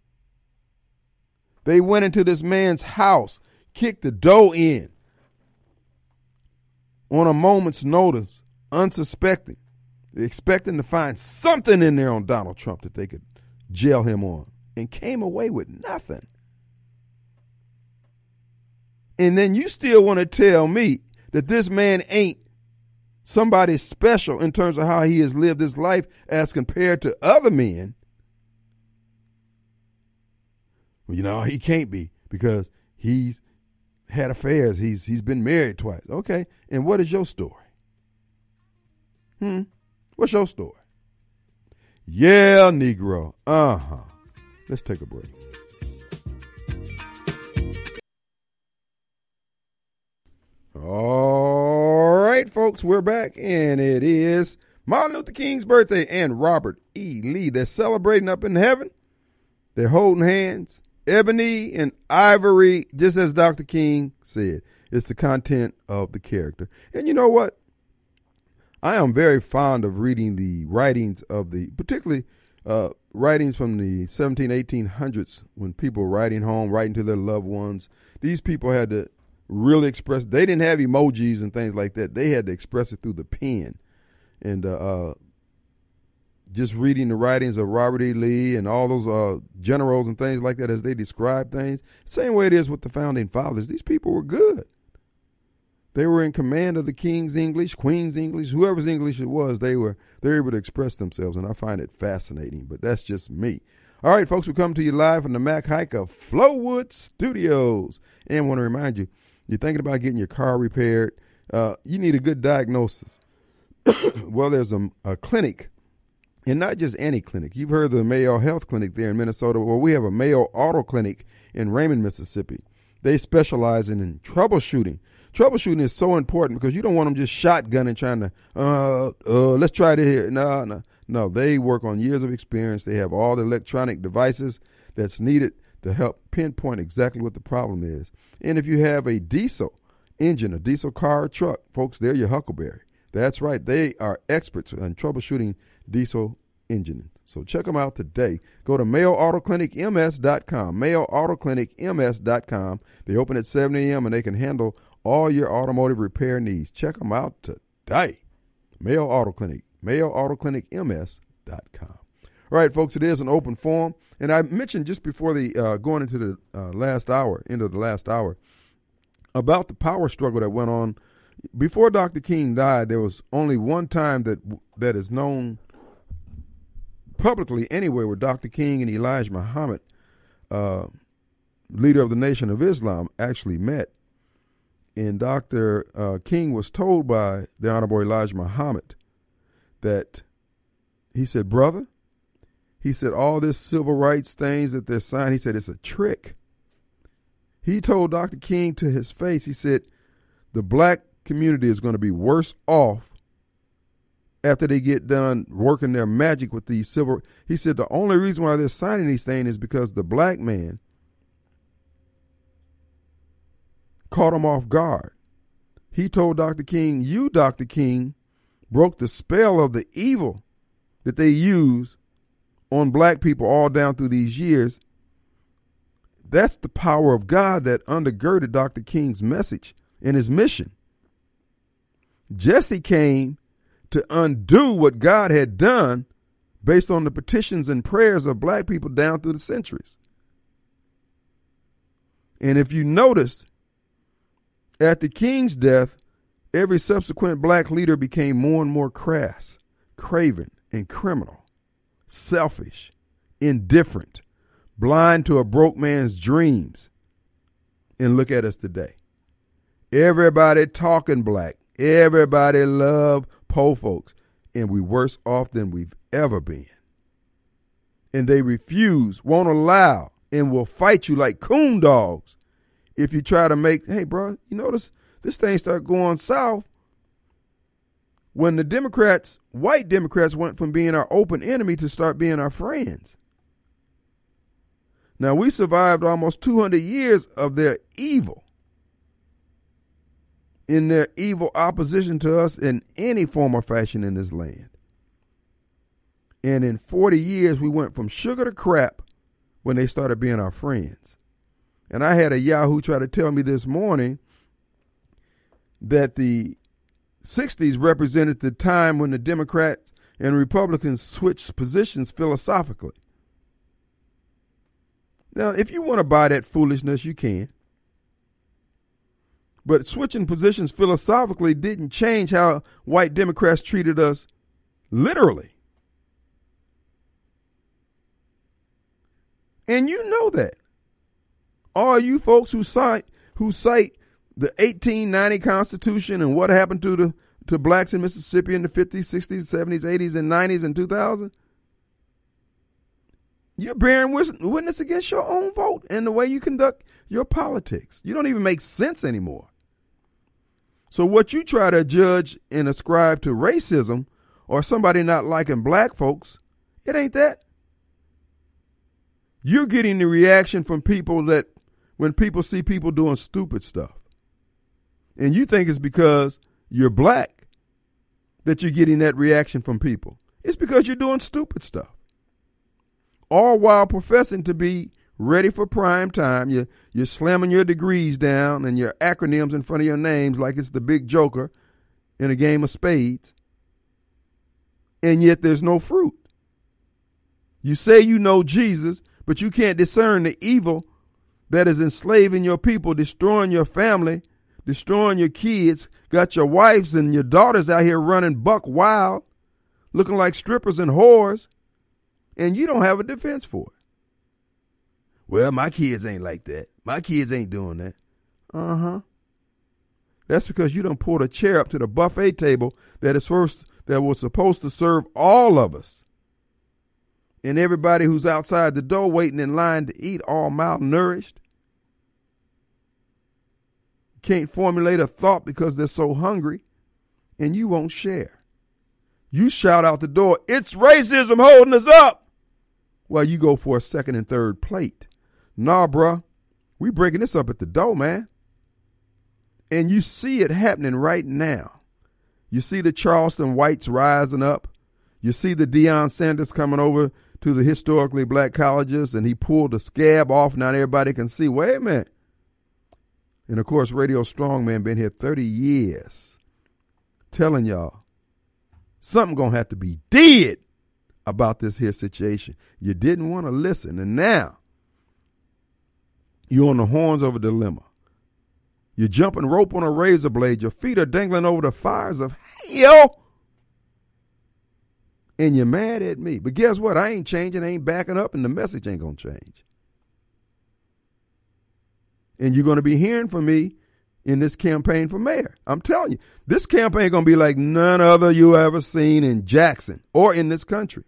They went into this man's house, kicked the door in on a moment's notice, unsuspecting, expecting to find something in there on Donald Trump that they could jail him on, and came away with nothing. And then you still want to tell me that this man ain't somebody special in terms of how he has lived his life as compared to other men. Well, you know, he can't be, because he's had affairs. He's he's been married twice. Okay. And what is your story? Hmm. What's your story? Yeah, Negro. Uh-huh. Let's take a break. All right, folks, we're back, and it is Martin Luther King's birthday and Robert E. Lee. They're celebrating up in heaven. They're holding hands. Ebony and ivory, just as Doctor King said, it's the content of the character. And you know what? I am very fond of reading the writings of the, particularly uh, writings from the seventeen, eighteen hundreds, when people were writing home, writing to their loved ones. These people had to really express, they didn't have emojis and things like that. They had to express it through the pen. And uh, uh, just reading the writings of Robert E. Lee and all those uh, generals and things like that as they describe things, same way it is with the founding fathers. These people were good. They were in command of the king's English, queen's English, whoever's English it was, they were they were able to express themselves, and I find it fascinating, but that's just me. All right, folks, we come to you live from the Mac Haik of Flowood Studios. And I want to remind you, you're thinking about getting your car repaired, uh, you need a good diagnosis. Well, there's a, a clinic, and not just any clinic. You've heard of the Mayo Health Clinic there in Minnesota. Well, we have a Mayo Auto Clinic in Raymond, Mississippi. They specialize in, in troubleshooting. Troubleshooting is so important because you don't want them just shotgunning, trying to, uh, uh, let's try it here. No, no, no. They work on years of experience. They have all the electronic devices that's needed to help pinpoint exactly what the problem is. And if you have a diesel engine, a diesel car or truck, folks, they're your Huckleberry. That's right. They are experts in troubleshooting diesel engines. So check them out today. Go to Mayo Auto Clinic M S dot com, Mayo Auto Clinic M S dot com. They open at seven a.m. and they can handle all your automotive repair needs. Check them out today. Mayo Auto Clinic, Mayo Auto Clinic M S dot com. All right, folks, it is an open forum. And I mentioned just before the uh, going into the uh, last hour, into the last hour, about the power struggle that went on. Before Doctor King died, there was only one time that that is known publicly anywhere where Doctor King and Elijah Muhammad, uh, leader of the Nation of Islam, actually met. And Doctor Uh, King was told by the Honorable Elijah Muhammad that, he said, brother, he said, all this civil rights things that they're signing, he said, it's a trick. He told Doctor King to his face, he said, the black community is going to be worse off after they get done working their magic with these civil. He said the only reason why they're signing these things is because the black man caught him off guard. He told Doctor King, you, Doctor King, broke the spell of the evil that they use on black people all down through these years. That's the power of God that undergirded Doctor King's message and his mission. Jesse came to undo what God had done based on the petitions and prayers of black people down through the centuries. And if you notice, at the King's death, every subsequent black leader became more and more crass, craven, and criminal, selfish, indifferent, blind to a broke man's dreams. And look at us today. Everybody talking black. Everybody love po folks. And we worse off than we've ever been. And they refuse, won't allow, and will fight you like coon dogs if you try to make, hey, bro, you notice this thing start going south when the Democrats, white Democrats, went from being our open enemy to start being our friends. Now, we survived almost two hundred years of their evil, in their evil opposition to us in any form or fashion in this land. And in forty years, we went from sugar to crap when they started being our friends. And I had a Yahoo try to tell me this morning that the sixties represented the time when the Democrats and Republicans switched positions philosophically. Now, if you want to buy that foolishness, you can. But switching positions philosophically didn't change how white Democrats treated us literally. And you know that. All you folks who cite who cite the eighteen ninety Constitution and what happened to the to blacks in Mississippi in the fifties, sixties, seventies, eighties, and nineties and two thousand, You're bearing witness against your own vote and the way you conduct your politics. You don't even make sense anymore. So what you try to judge and ascribe to racism or somebody not liking black folks, it ain't that. You're getting the reaction from people that when people see people doing stupid stuff. And you think it's because you're black that you're getting that reaction from people. It's because you're doing stupid stuff. All while professing to be ready for prime time. You're, you're slamming your degrees down and your acronyms in front of your names like it's the big joker in a game of spades. And yet there's no fruit. You say you know Jesus, but you can't discern the evil that is enslaving your people, destroying your family, destroying your kids, got your wives and your daughters out here running buck wild, looking like strippers and whores, and you don't have a defense for it. Well, my kids ain't like that. My kids ain't doing that. Uh-huh. That's because you done pulled a chair up to the buffet table that is first that was supposed to serve all of us. And everybody who's outside the door waiting in line to eat all malnourished. Can't formulate a thought because they're so hungry, and you won't share. You shout out the door, "It's racism holding us up," while you go for a second and third plate. Nah, bruh, we breaking this up at the door, man. And you see it happening right now. You see the Charleston whites rising up. You see the Deion Sanders coming over to the historically black colleges, and he pulled the scab off. Now everybody can see, wait a minute. And, of course, Radio Strongman been here thirty years telling y'all something going to have to be did about this here situation. You didn't want to listen, and now you're on the horns of a dilemma. You're jumping rope on a razor blade. Your feet are dangling over the fires of hell. And you're mad at me. But guess what? I ain't changing, I ain't backing up, and the message ain't going to change. And you're going to be hearing from me in this campaign for mayor. I'm telling you, this campaign going to be like none other you ever seen in Jackson or in this country.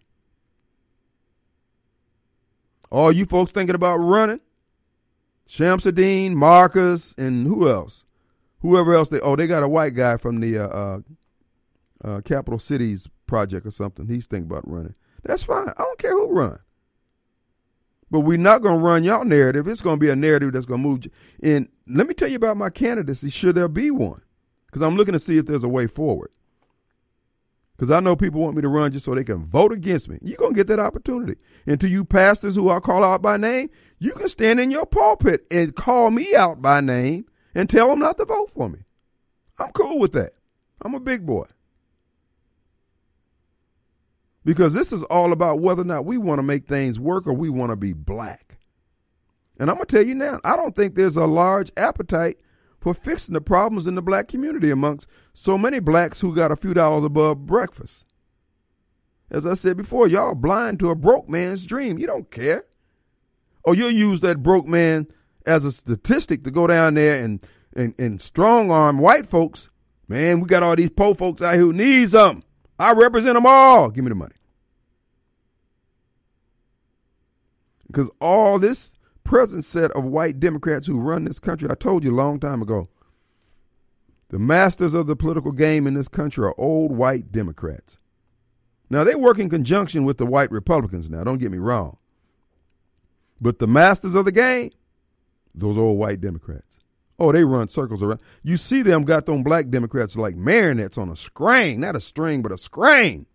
All you folks thinking about running, Shamsuddin, Marcus, and who else? Whoever else they, oh, they got a white guy from the uh, uh, uh, Capital Cities Project or something. He's thinking about running. That's fine. I don't care who runs. But we're not going to run y'all narrative. It's going to be a narrative that's going to move you. And let me tell you about my candidacy, should there be one. Because I'm looking to see if there's a way forward. Because I know people want me to run just so they can vote against me. You're going to get that opportunity. And to you pastors who I call out by name, you can stand in your pulpit and call me out by name and tell them not to vote for me. I'm cool with that. I'm a big boy. Because this is all about whether or not we want to make things work or we want to be black. And I'm going to tell you now, I don't think there's a large appetite for fixing the problems in the black community amongst so many blacks who got a few dollars above breakfast. As I said before, y'all blind to a broke man's dream. You don't care. Or you'll use that broke man as a statistic to go down there and, and, and strong arm white folks. Man, we got all these poor folks out here who need something. I represent them all. Give me the money. Because all this present set of white Democrats who run this country, I told you a long time ago, the masters of the political game in this country are old white Democrats. Now, they work in conjunction with the white Republicans now, don't get me wrong. But the masters of the game, those old white Democrats. Oh, they run circles around. You see them got them black Democrats like marionettes on a string, not a string, but a screen.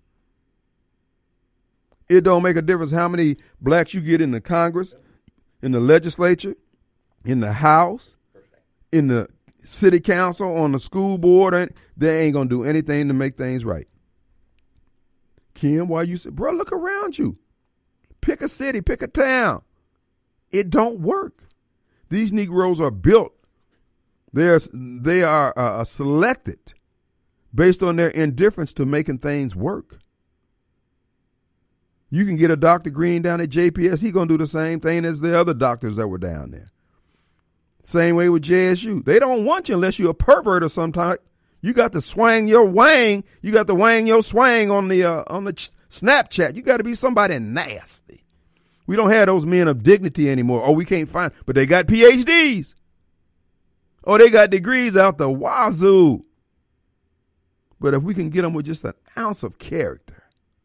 It don't make a difference how many blacks you get in the Congress, in the legislature, in the House, in the city council, on the school board. They ain't going to do anything to make things right. Kim, why you say, bro, look around you. Pick a city, pick a town. It don't work. These Negroes are built. They're, they are uh, selected based on their indifference to making things work. You can get a Doctor Green down at J P S. He's going to do the same thing as the other doctors that were down there. Same way with J S U. They don't want you unless you're a pervert or some type. You got to swang your wang. You got to wang your swang on the uh, on the ch- Snapchat. You got to be somebody nasty. We don't have those men of dignity anymore. Oh, we can't find, but they got P H Ds. Oh, they got degrees out the wazoo. But if we can get them with just an ounce of character.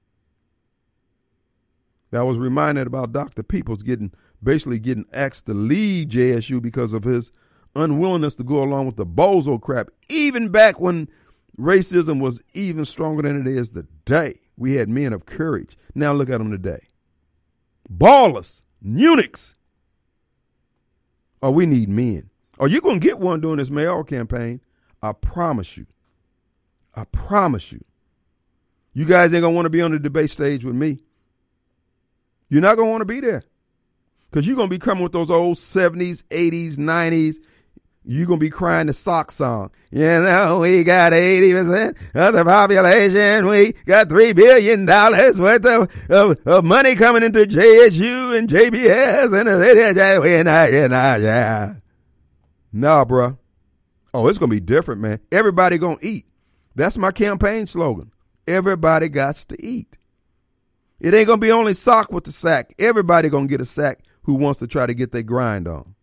I was reminded about Doctor Peoples getting, basically getting asked to leave J S U because of his unwillingness to go along with the bozo crap, even back when racism was even stronger than it is today. We had men of courage. Now look at them today. Ballers, eunuchs. Oh, we need men. Oh, you're going to get one during this mayoral campaign. I promise you. I promise you. You guys ain't going to want to be on the debate stage with me. You're not going to want to be there. Because you're going to be coming with those old seventies, eighties, nineties. You're going to be crying the sock song. You know, we got eighty percent of the population. We got three billion dollars worth of, of, of money coming into J S U and J B S. And we're not, we're not, yeah. Nah, bro. Oh, it's going to be different, man. Everybody going to eat. That's my campaign slogan. Everybody got to eat. It ain't going to be only sock with the sack. Everybody going to get a sack who wants to try to get their grind on.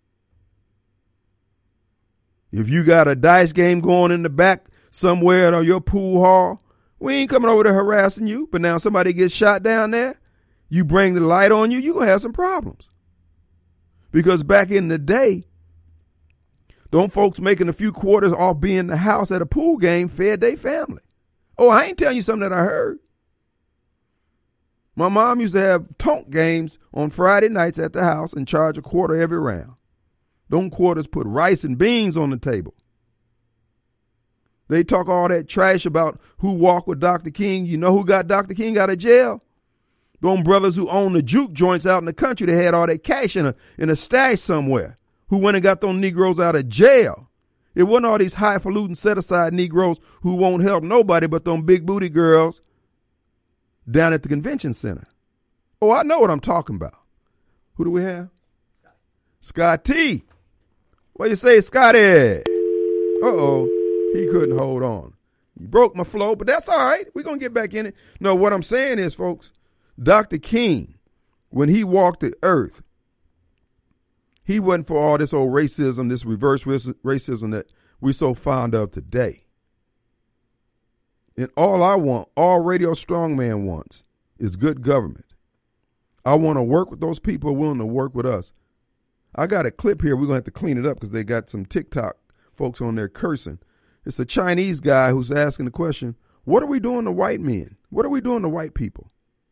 If you got a dice game going in the back somewhere at your pool hall, we ain't coming over to harassing you. But now somebody gets shot down there, you bring the light on you, you're going to have some problems. Because back in the day, don't folks making a few quarters off being in the house at a pool game fed their family. Oh, I ain't telling you something that I heard. My mom used to have tonk games on Friday nights at the house and charge a quarter every round. Them quarters put rice and beans on the table. They talk all that trash about who walked with Doctor King. You know who got Doctor King out of jail? Them brothers who own the juke joints out in the country that had all that cash in a, in a stash somewhere, who went and got them Negroes out of jail. It wasn't all these highfalutin set-aside Negroes who won't help nobody but them big booty girls down at the convention center. Oh, I know what I'm talking about. Who do we have? Scotty. What you say, Scotty? Uh-oh. He couldn't hold on. He broke my flow, but that's all right. We're going to get back in it. No, what I'm saying is, folks, Doctor King, when he walked the earth, he wasn't for all this old racism, this reverse racism that we're so fond of today. And all I want, all Radio Strongman wants, is good government. I want to work with those people willing to work with us. I got a clip here. We're going to have to clean it up because they got some TikTok folks on there cursing. It's a Chinese guy who's asking the question, what are we doing to white men? What are we doing to white people?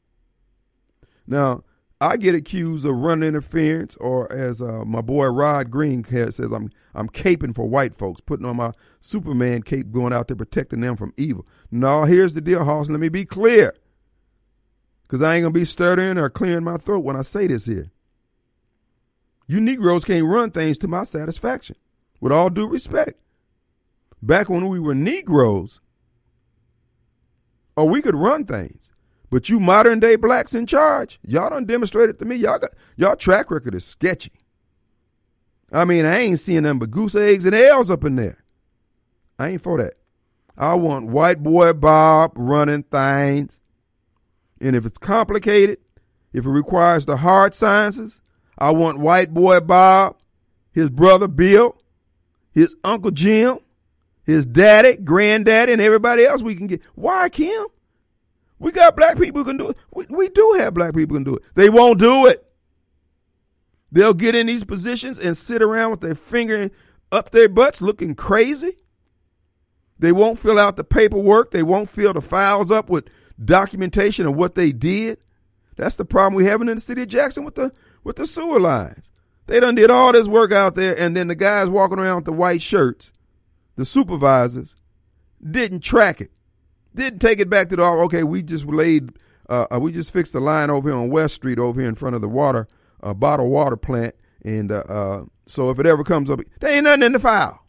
Now, I get accused of running interference, or as uh, my boy Rod Green says, I'm I'm caping for white folks, putting on my Superman cape, going out there protecting them from evil. No, here's the deal, Hoss. Let me be clear, because I ain't going to be stuttering or clearing my throat when I say this here. You Negroes can't run things to my satisfaction, with all due respect. Back when we were Negroes, oh, we could run things. But you modern day blacks in charge, y'all done demonstrated to me, y'all got y'all track record is sketchy. I mean, I ain't seeing them but goose eggs and L's up in there. I ain't for that. I want white boy Bob running things. And if it's complicated, if it requires the hard sciences, I want white boy Bob, his brother Bill, his uncle Jim, his daddy, granddaddy, and everybody else we can get. Why, Kim? We got black people who can do it. We, we do have black people who can do it. They won't do it. They'll get in these positions and sit around with their finger up their butts looking crazy. They won't fill out the paperwork. They won't fill the files up with documentation of what they did. That's the problem we're having in the city of Jackson with the with the sewer lines. They done did all this work out there, and then the guys walking around with the white shirts, the supervisors, didn't track it. Didn't take it back to the, okay, we just laid, uh, we just fixed the line over here on West Street over here in front of the water, uh, bottled water plant. And uh, uh, so if it ever comes up, there ain't nothing in the file.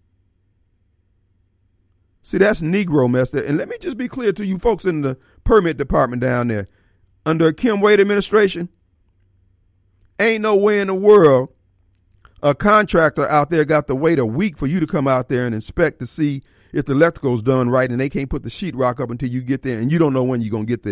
See, that's Negro mess there. And let me just be clear to you folks in the permit department down there. Under a Kim Wade administration, ain't no way in the world a contractor out there got to wait a week for you to come out there and inspect to see if the electrical's done right, and they can't put the sheetrock up until you get there, and you don't know when you're going to get there.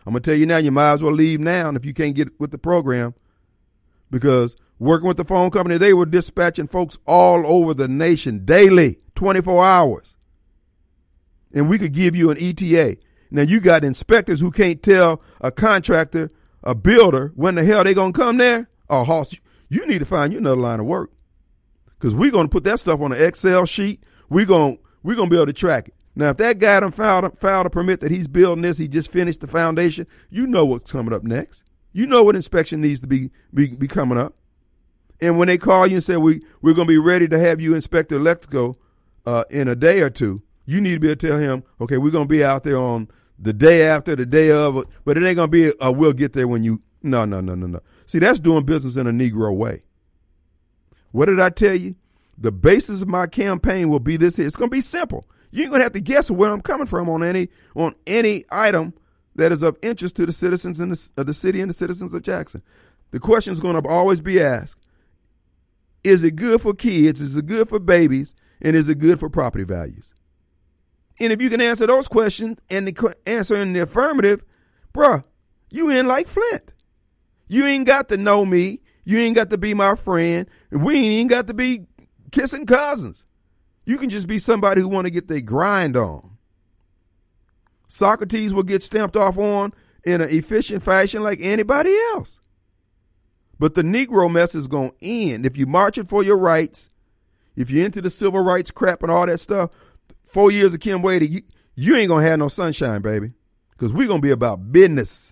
I'm going to tell you now, you might as well leave now if you can't get with the program, because working with the phone company, they were dispatching folks all over the nation daily, twenty-four hours. And we could give you an E T A. Now, you got inspectors who can't tell a contractor, a builder, when the hell they going to come there. Oh, Hoss, you need to find you another line of work, because we're going to put that stuff on an Excel sheet. We're going we're gonna be able to track it. Now, if that guy done filed, filed a permit that he's building this, he just finished the foundation, you know what's coming up next. You know what inspection needs to be, be, be coming up. And when they call you and say, we, we're going to be ready to have you inspect the electrical uh, in a day or two, you need to be able to tell him, okay, we're going to be out there on the day after, the day of, but it ain't going to be, a, we'll get there when you, no, no, no, no, no. See, that's doing business in a Negro way. What did I tell you? The basis of my campaign will be this here. It's going to be simple. You ain't going to have to guess where I'm coming from on any on any item that is of interest to the citizens in the, of the city and the citizens of Jackson. The question is going to always be asked, is it good for kids? Is it good for babies? And is it good for property values? And if you can answer those questions and the answer in the affirmative, bruh, you in like Flint. You ain't got to know me. You ain't got to be my friend. We ain't got to be kissing cousins. You can just be somebody who want to get their grind on. Socrates will get stamped off on in an efficient fashion like anybody else. But the Negro mess is going to end. If you're marching for your rights, if you're into the civil rights crap and all that stuff, four years of Kim Wade, you, you ain't going to have no sunshine, baby, because we're going to be about business.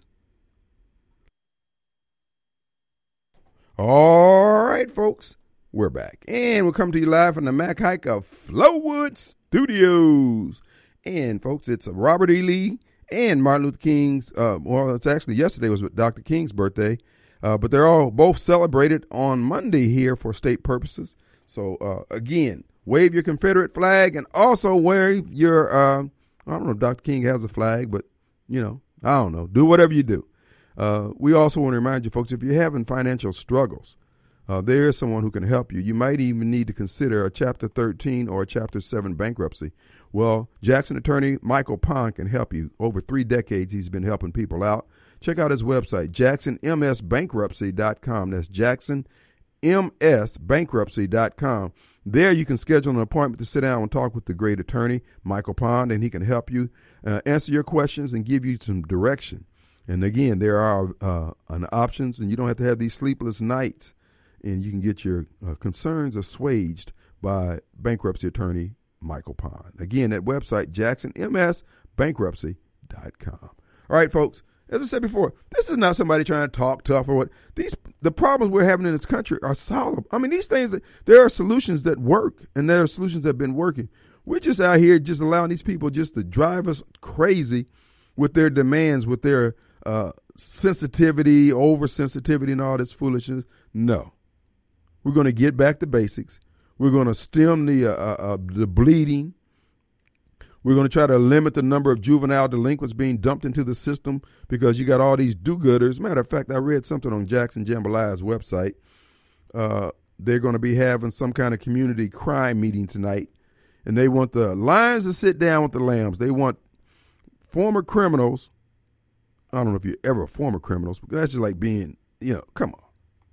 All right, folks. We're back, and we'll come to you live from the Mac Hike of Flowood Studios. And, folks, it's Robert E. Lee and Martin Luther King's, uh, well, it's actually yesterday was Doctor King's birthday, uh, but they're all both celebrated on Monday here for state purposes. So, uh, again, wave your Confederate flag and also wave your, uh, I don't know if Doctor King has a flag, but, you know, I don't know. Do whatever you do. Uh, we also want to remind you, folks, if you're having financial struggles, Uh, there is someone who can help you. You might even need to consider a Chapter thirteen or a Chapter seven bankruptcy. Well, Jackson attorney Michael Pond can help you. Over three decades, he's been helping people out. Check out his website, jackson m s bankruptcy dot com. That's jackson m s bankruptcy dot com. There you can schedule an appointment to sit down and talk with the great attorney, Michael Pond, and he can help you uh, answer your questions and give you some direction. And again, there are uh, an options, and you don't have to have these sleepless nights. And you can get your uh, concerns assuaged by bankruptcy attorney Michael Pond. Again, that website, jackson m s bankruptcy dot com. All right, folks, as I said before, this is not somebody trying to talk tough or what. These the problems we're having in this country are solvable. I mean, these things, there are solutions that work, and there are solutions that have been working. We're just out here just allowing these people just to drive us crazy with their demands, with their uh, sensitivity, oversensitivity, and all this foolishness. No. We're going to get back to basics. We're going to stem the uh, uh, the bleeding. We're going to try to limit the number of juvenile delinquents being dumped into the system because you got all these do-gooders. Matter of fact, I read something on Jackson Jambalaya's website. Uh, they're going to be having some kind of community crime meeting tonight, and they want the lions to sit down with the lambs. They want former criminals. I don't know if you're ever former criminals, but that's just like being, you know, come on.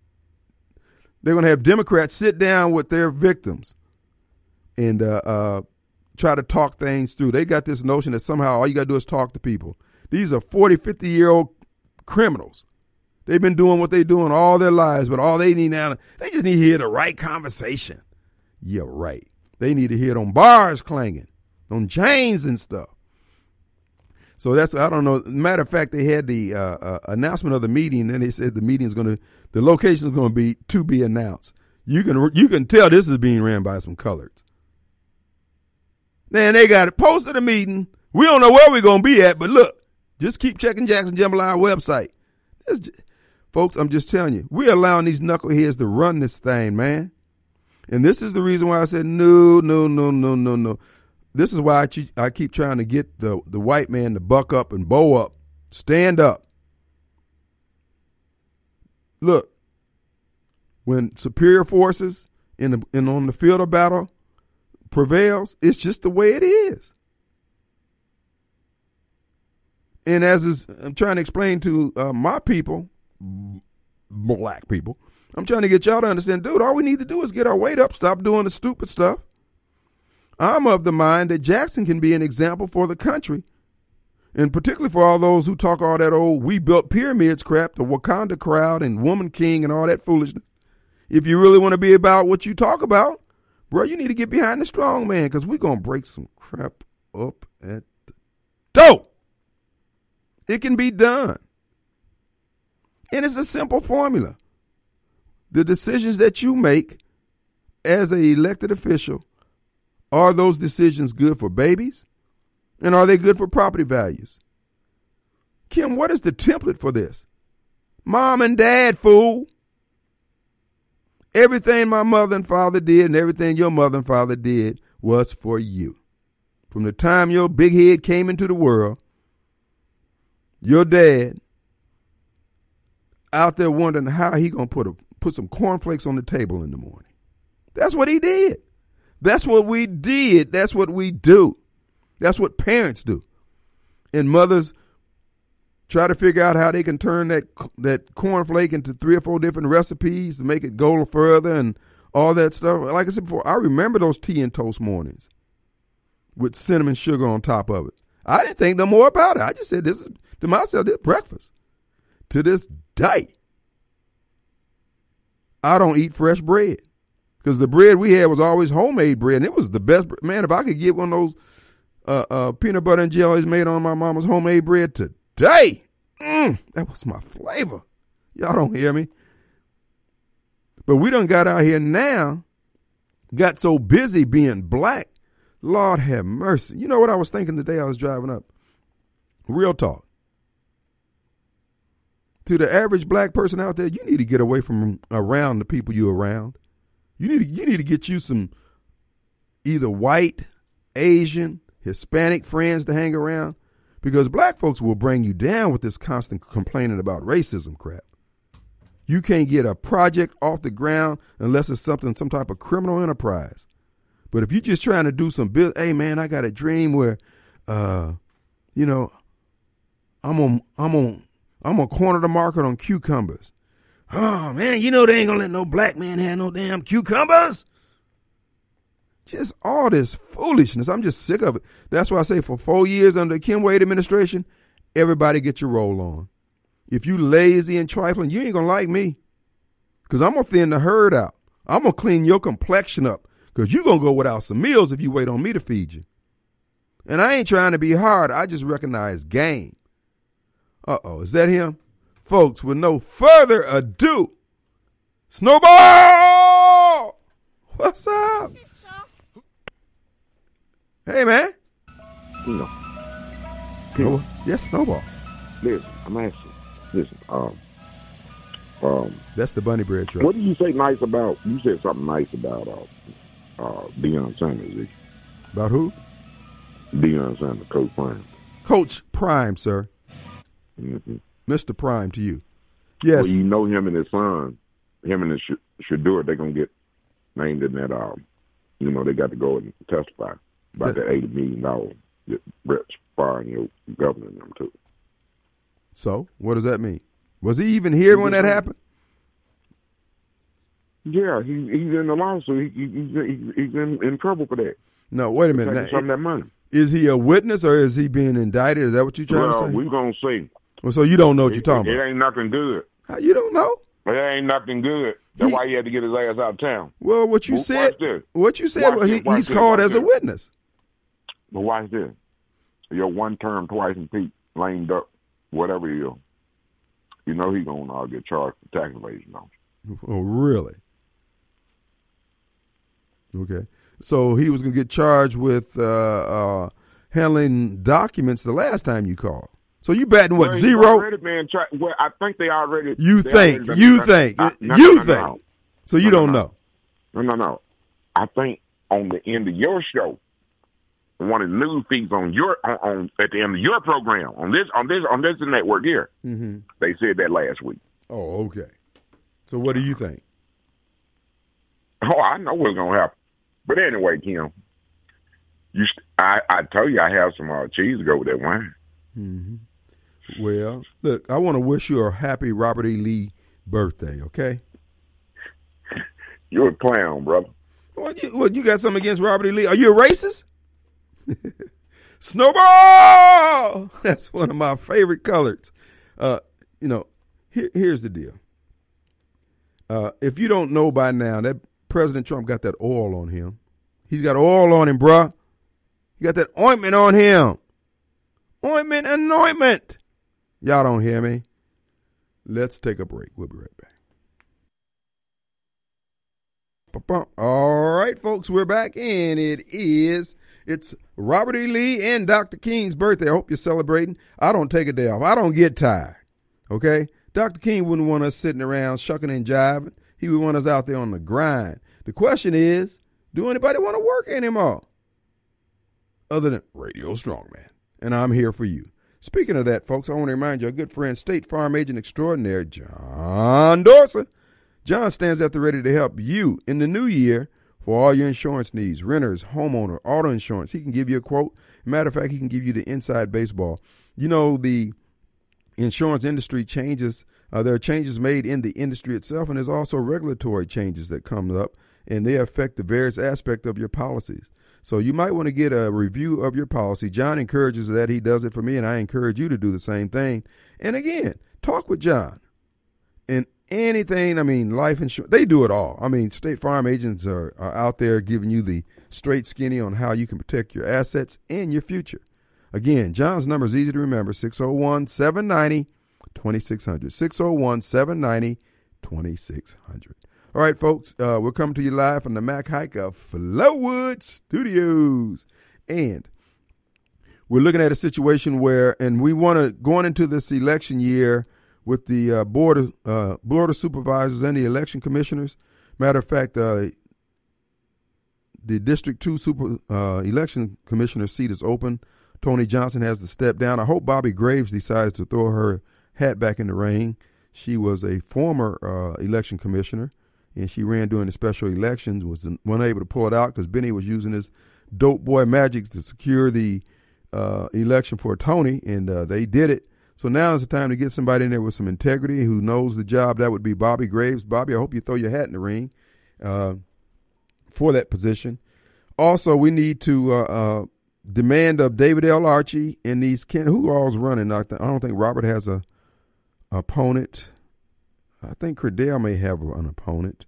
They're going to have Democrats sit down with their victims and uh, uh, try to talk things through. They got this notion that somehow all you got to do is talk to people. These are forty, fifty-year-old criminals. They've been doing what they're doing all their lives, but all they need now, they just need to hear the right conversation. Yeah, right. They need to hear it on bars clanging, on chains and stuff. So that's, I don't know. Matter of fact, they had the uh, uh, announcement of the meeting, and they said the meeting is going to, the location is going to be to be announced. You can you can tell this is being ran by some coloreds. Man, they got it posted a meeting. We don't know where we're going to be at, but look, just keep checking Jackson Jambalaya website. Just, folks, I'm just telling you, we're allowing these knuckleheads to run this thing, man. And this is the reason why I said no, no, no, no, no, no. This is why I keep trying to get the, the white man to buck up and bow up, stand up. Look, when superior forces in the, in on the field of battle prevails, it's just the way it is. And as is, I'm trying to explain to uh, my people, black people, I'm trying to get y'all to understand, dude, all we need to do is get our weight up, stop doing the stupid stuff. I'm of the mind that Jackson can be an example for the country, and particularly for all those who talk all that old we built pyramids crap, the Wakanda crowd and Woman King and all that foolishness. If you really want to be about what you talk about, bro, you need to get behind the strong man, because we're going to break some crap up at the door. It can be done. And it's a simple formula. The decisions that you make as an elected official, are those decisions good for babies? And are they good for property values? Kim, what is the template for this? Mom and dad, fool. Everything my mother and father did and everything your mother and father did was for you. From the time your big head came into the world, your dad out there wondering how he gonna put a put some cornflakes on the table in the morning. That's what he did. That's what we did. That's what we do. That's what parents do. And mothers try to figure out how they can turn that that cornflake into three or four different recipes to make it go further and all that stuff. Like I said before, I remember those tea and toast mornings with cinnamon sugar on top of it. I didn't think no more about it. I just said, this is, to myself, this is breakfast. To this day, I don't eat fresh bread, because the bread we had was always homemade bread, and it was the best. Man, if I could get one of those uh, uh, peanut butter and jellies made on my mama's homemade bread today, mm, that was my flavor. Y'all don't hear me. But we done got out here now, got so busy being black, Lord have mercy. You know what I was thinking the day I was driving up? Real talk. To the average black person out there, you need to get away from around the people you're around. You need to, you need to get you some either white, Asian, Hispanic friends to hang around, because black folks will bring you down with this constant complaining about racism crap. You can't get a project off the ground unless it's something, some type of criminal enterprise. But if you're just trying to do some business, hey man, I got a dream where, uh, you know, I'm on, I'm on, I'm gonna corner the market on cucumbers. Oh man, you know they ain't gonna let no black man have no damn cucumbers. Just all this foolishness. I'm just sick of it. That's why I say for four years under the Kim Wade administration, everybody get your roll on. If you lazy and trifling, you ain't gonna like me, because I'm gonna thin the herd out. I'm gonna clean your complexion up, because you gonna go without some meals if you wait on me to feed you. And I ain't trying to be hard. I just recognize game. Uh-oh, is that him? Folks, with no further ado, Snowball! What's up? Hey, man. No. Snowball? Yes, Snowball. Listen, I'm asking. Listen, um, um, that's the bunny bread truck. What did you say nice about? You said something nice about uh, uh, Deion Sanders. About who? Deion Sanders, Coach Prime. Coach Prime, sir. Mm-hmm. Mister Prime to you. Yes. Well, you know him and his son, him and his Sh- Shador, they're going to get named in that, um, you know, they got to go and testify about that eighty million dollars that Brett's firing your governor and them too. So, what does that mean? Was he even here when that happened? Yeah, he, he's in the lawsuit. He, he, he, he's in, in trouble for that. No, wait a minute. Now, some of that money. Is he a witness or is he being indicted? Is that what you're trying well, to say? We're going to see. Well, so you don't know what it, you're talking it, about. It ain't nothing good. How, you don't know? It ain't nothing good. That's he, why he had to get his ass out of town. Well, what you well, said, what you said, well, he, this, he's this, called as this. a witness. But watch this. You're one term, twice impeached, lame duck, whatever you you know he's going to uh, get charged for tax evasion, don't you? Oh, really? Okay. So he was going to get charged with uh, uh, handling documents the last time you called. So you batting what, well, zero? Already been tra- well, I think they already. You they think, already you tra- think, I, no, you no, no, think. No. So you no, don't no, know. No, no, no. I think on the end of your show, one of the news feeds on your on, on at the end of your program on this on this on this network here, mm-hmm. they said that last week. Oh, okay. So what do you think? Oh, I know what's gonna happen. But anyway, Kim, you st- I I told you I have some uh, cheese to go with that wine. Mm-hmm. Well, look, I want to wish you a happy Robert E. Lee birthday, okay? You're a clown, brother. What you, what, you got something against Robert E. Lee? Are you a racist? Snowball! That's one of my favorite colors. Uh, you know, here, here's the deal. Uh, if you don't know by now, that President Trump got that oil on him. He's got oil on him, bruh. He got that ointment on him. Ointment and ointment. Y'all don't hear me? Let's take a break. We'll be right back. All right, folks, we're back, and it is, it's Robert E. Lee and Doctor King's birthday. I hope you're celebrating. I don't take a day off. I don't get tired, okay? Doctor King wouldn't want us sitting around shucking and jiving. He would want us out there on the grind. The question is, do anybody want to work anymore? Other than Radio Strongman. And I'm here for you. Speaking of that, folks, I want to remind you, our good friend, State Farm Agent Extraordinaire, John Dorsey. John stands at the ready to help you in the new year for all your insurance needs, renters, homeowner, auto insurance. He can give you a quote. Matter of fact, he can give you the inside baseball. You know, the insurance industry changes. Uh, there are changes made in the industry itself, and there's also regulatory changes that come up, and they affect the various aspects of your policies. So you might want to get a review of your policy. John encourages that. He does it for me, and I encourage you to do the same thing. And again, talk with John. And anything, I mean, life insurance, they do it all. I mean, State Farm agents are, are out there giving you the straight skinny on how you can protect your assets and your future. Again, John's number is easy to remember, six oh one, seven nine oh, two six hundred, six oh one, seven nine oh, two six hundred. All right, folks, uh, we're coming to you live from the Mac Hike of Flowood Studios. And we're looking at a situation where, and we want to, going into this election year with the uh, board, of, uh, board of supervisors and the election commissioners. Matter of fact, uh, the District two super uh, election commissioner seat is open. Tony Johnson has to step down. I hope Bobby Graves decides to throw her hat back in the ring. She was a former uh, election commissioner, and she ran during the special elections, was unable to pull it out because Benny was using his dope boy magic to secure the uh, election for Tony, and uh, they did it. So now is the time to get somebody in there with some integrity who knows the job. That would be Bobby Graves. Bobby, I hope you throw your hat in the ring uh, for that position. Also, we need to uh, uh, demand of David L. Archie and these Ken, who all's running. I, th- I don't think Robert has a opponent. I think Credell may have an opponent.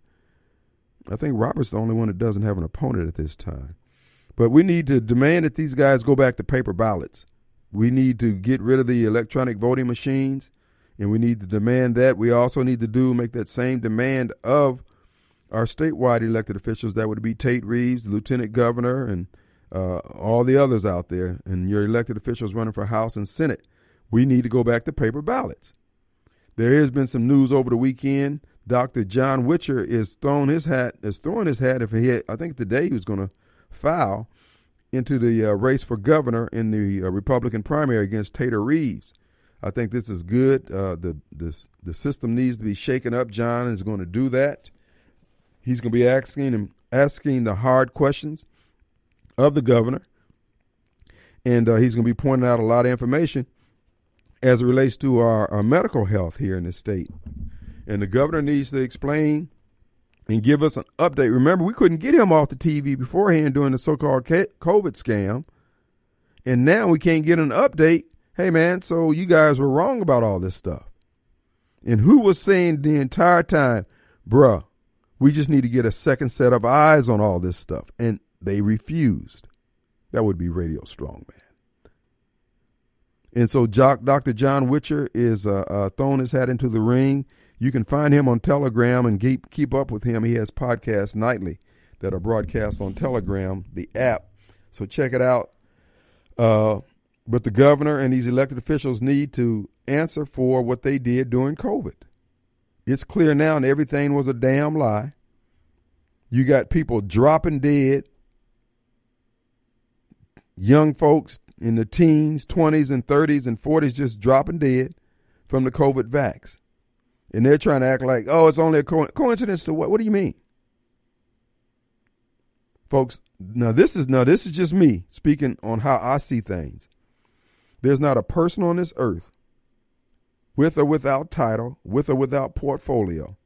I think Robert's the only one that doesn't have an opponent at this time. But we need to demand that these guys go back to paper ballots. We need to get rid of the electronic voting machines, and we need to demand that. We also need to do make that same demand of our statewide elected officials. That would be Tate Reeves, the lieutenant governor, and uh, all the others out there, and your elected officials running for House and Senate. We need to go back to paper ballots. There has been some news over the weekend. Doctor John Witcher is throwing his hat, is throwing his hat if he had, I think today he was going to file into the uh, race for governor in the uh, Republican primary against Tater Reeves. I think this is good. Uh, the this, the system needs to be shaken up. John is going to do that. He's going to be asking him asking the hard questions of the governor, and uh, he's going to be pointing out a lot of information as it relates to our, our medical health here in the state. And the governor needs to explain and give us an update. Remember, we couldn't get him off the T V beforehand during the so-called COVID scam. And now we can't get an update. Hey, man, so you guys were wrong about all this stuff. And who was saying the entire time, bruh, we just need to get a second set of eyes on all this stuff. And they refused. That would be Radio Strongman. And so Doctor John Witcher is uh, uh, throwing his hat into the ring. You can find him on Telegram and keep, keep up with him. He has podcasts nightly that are broadcast on Telegram, the app. So check it out. Uh, but the governor and these elected officials need to answer for what they did during COVID. It's clear now that everything was a damn lie. You got people dropping dead, young folks in the teens, twenties, and thirties, and forties just dropping dead from the COVID vax. And they're trying to act like, oh, it's only a co- coincidence to what? What do you mean? Folks, now this is now this is just me speaking on how I see things. There's not a person on this earth with or without title, with or without portfolio,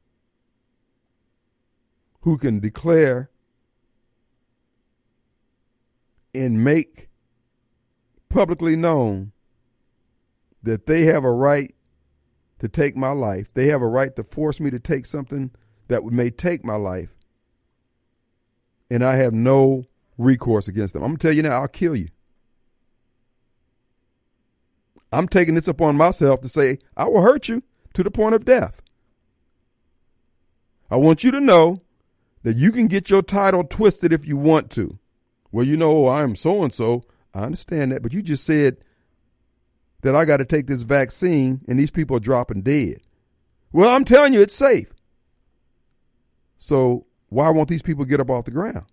who can declare and make publicly known that they have a right to take my life. They have a right to force me to take something that may take my life. And I have no recourse against them. I'm going to tell you now, I'll kill you. I'm taking this upon myself to say, I will hurt you to the point of death. I want you to know that you can get your title twisted if you want to. Well, you know, I am so-and-so. I understand that, but you just said that I got to take this vaccine and these people are dropping dead. Well, I'm telling you, it's safe. So why won't these people get up off the ground?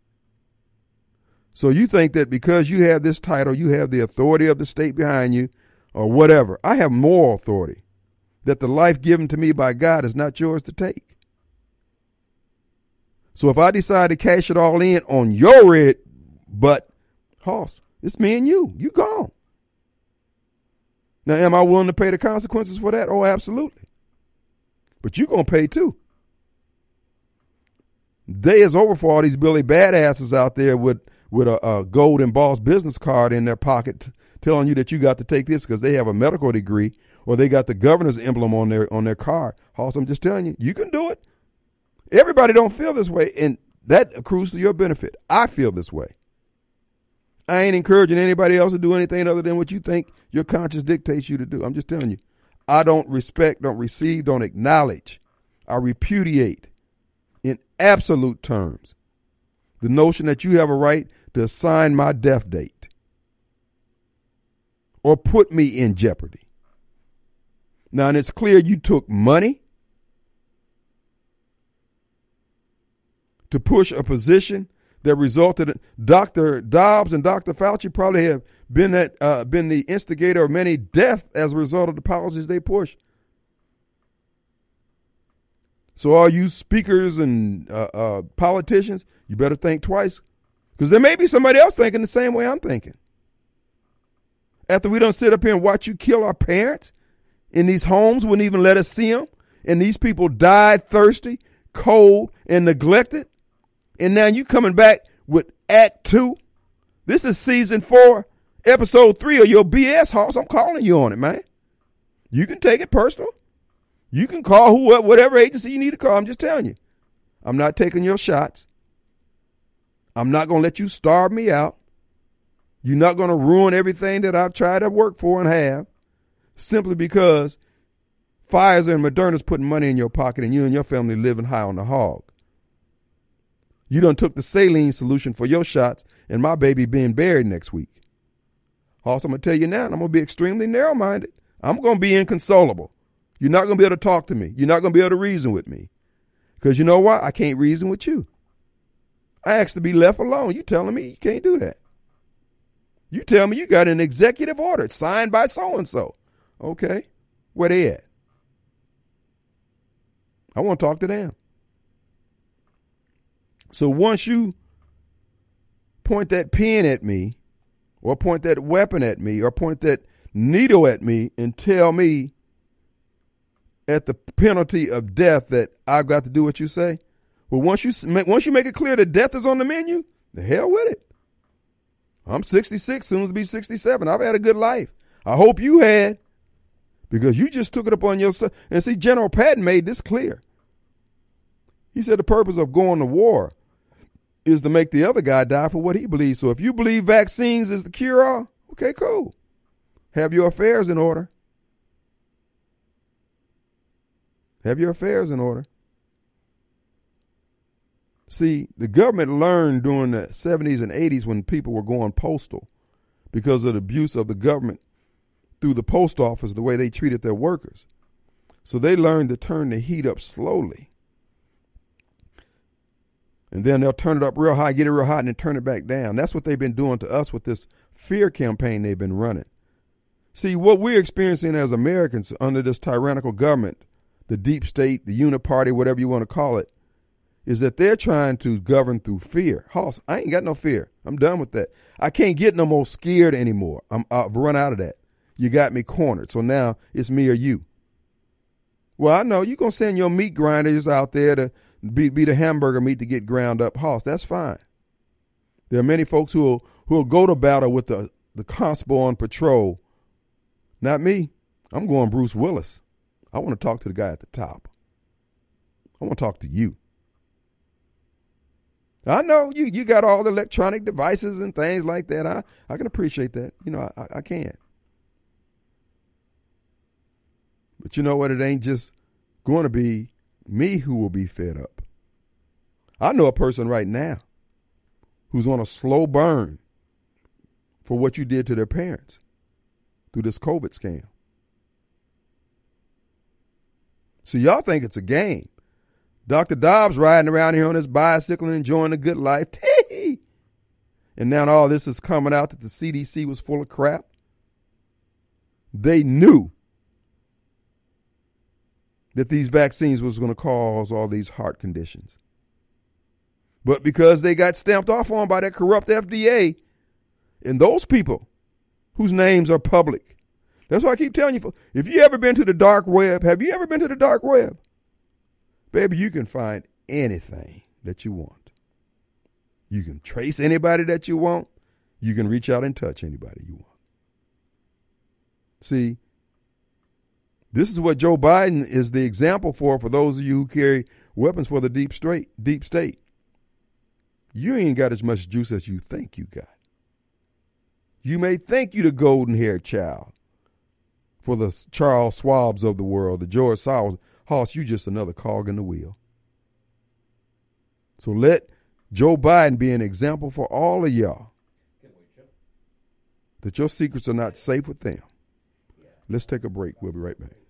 So you think that because you have this title, you have the authority of the state behind you or whatever. I have moral authority that the life given to me by God is not yours to take. So if I decide to cash it all in on your red butt horse, it's me and you. You gone. Now, am I willing to pay the consequences for that? Oh, absolutely. But you're going to pay too. Day is over for all these Billy badasses out there with, with a, a gold embossed business card in their pocket t- telling you that you got to take this because they have a medical degree or they got the governor's emblem on their on their card. Hoss, I'm just telling you, you can do it. Everybody don't feel this way, and that accrues to your benefit. I feel this way. I ain't encouraging anybody else to do anything other than what you think your conscience dictates you to do. I'm just telling you, I don't respect, don't receive, don't acknowledge. I repudiate in absolute terms the notion that you have a right to assign my death date or put me in jeopardy. Now, and it's clear you took money to push a position that resulted in Doctor Dobbs and Doctor Fauci probably have been at, uh, been the instigator of many deaths as a result of the policies they push. So all you speakers and uh, uh, politicians, you better think twice, because there may be somebody else thinking the same way I'm thinking. After we don't sit up here and watch you kill our parents in these homes, wouldn't even let us see them, and these people died thirsty, cold, and neglected, and now you coming back with Act Two. This is season four, episode three of your B S Hoss. I'm calling you on it, man. You can take it personal. You can call whoever, whatever agency you need to call. I'm just telling you. I'm not taking your shots. I'm not going to let you starve me out. You're not going to ruin everything that I've tried to work for and have simply because Pfizer and Moderna's putting money in your pocket and you and your family living high on the hog. You done took the saline solution for your shots and my baby being buried next week. Also, I'm going to tell you now, and I'm going to be extremely narrow-minded. I'm going to be inconsolable. You're not going to be able to talk to me. You're not going to be able to reason with me. Because you know why? I can't reason with you. I asked to be left alone. You telling me you can't do that. You tell me you got an executive order signed by so-and-so. Okay. Where they at? I want to talk to them. So once you point that pen at me or point that weapon at me or point that needle at me and tell me at the penalty of death that I've got to do what you say, well, once you make, once you make it clear that death is on the menu, the hell with it. I'm sixty-six, soon to be sixty-seven. I've had a good life. I hope you had, because you just took it upon yourself. And see, General Patton made this clear. He said the purpose of going to war is to make the other guy die for what he believes. So if you believe vaccines is the cure-all, okay, cool. Have your affairs in order. Have your affairs in order. See, the government learned during the seventies and eighties when people were going postal because of the abuse of the government through the post office, the way they treated their workers. So they learned to turn the heat up slowly. And then they'll turn it up real high, get it real hot, and then turn it back down. That's what they've been doing to us with this fear campaign they've been running. See, what we're experiencing as Americans under this tyrannical government, the deep state, the uniparty, whatever you want to call it, is that they're trying to govern through fear. Hoss, I ain't got no fear. I'm done with that. I can't get no more scared anymore. I'm, I've run out of that. You got me cornered. So now it's me or you. Well, I know you're going to send your meat grinders out there to be, be the hamburger meat to get ground up hoss. That's fine. There are many folks who will, who will go to battle with the, the constable on patrol. Not me. I'm going Bruce Willis. I want to talk to the guy at the top. I want to talk to you. I know you, you got all the electronic devices and things like that. I, I can appreciate that. You know, I, I can. But you know what? It ain't just going to be me who will be fed up. I know a person right now who's on a slow burn for what you did to their parents through this COVID scam. So y'all think it's a game. Doctor Dobbs riding around here on his bicycle and enjoying the good life. And now all this is coming out that the C D C was full of crap. They knew that these vaccines was going to cause all these heart conditions. But because they got stamped off on by that corrupt F D A and those people whose names are public. That's why I keep telling you, if you ever been to the dark web, have you ever been to the dark web? Baby, you can find anything that you want. You can trace anybody that you want. You can reach out and touch anybody you want. See, this is what Joe Biden is the example for, for those of you who carry weapons for the deep state. Deep state. You ain't got as much juice as you think you got. You may think you the golden-haired child for the Charles Schwabs of the world, the George Soros. Hoss, you just another cog in the wheel. So let Joe Biden be an example for all of y'all that your secrets are not safe with them. Let's take a break. We'll be right back.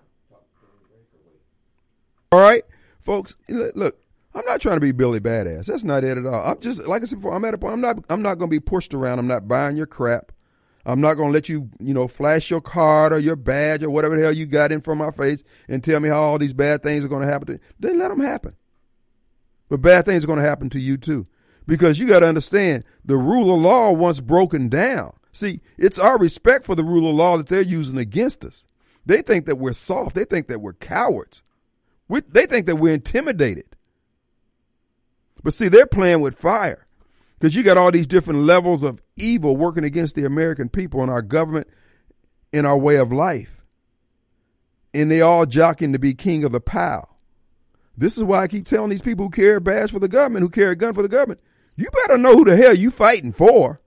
All right, folks, look, I'm not trying to be Billy Badass. That's not it at all. I'm just, like I said before, I'm at a point, I'm not, I'm not going to be pushed around. I'm not buying your crap. I'm not going to let you, you know, flash your card or your badge or whatever the hell you got in from my face and tell me how all these bad things are going to happen to you. Then let them happen. But bad things are going to happen to you too. Because you got to understand, the rule of law once broken down. See, it's our respect for the rule of law that they're using against us. They think that we're soft. They think that we're cowards. We, they think that we're intimidated. But see, they're playing with fire. Because you got all these different levels of evil working against the American people and our government and our way of life. And they all jockeying to be king of the pow. This is why I keep telling these people who carry a badge for the government, who carry a gun for the government, you better know who the hell you fighting for.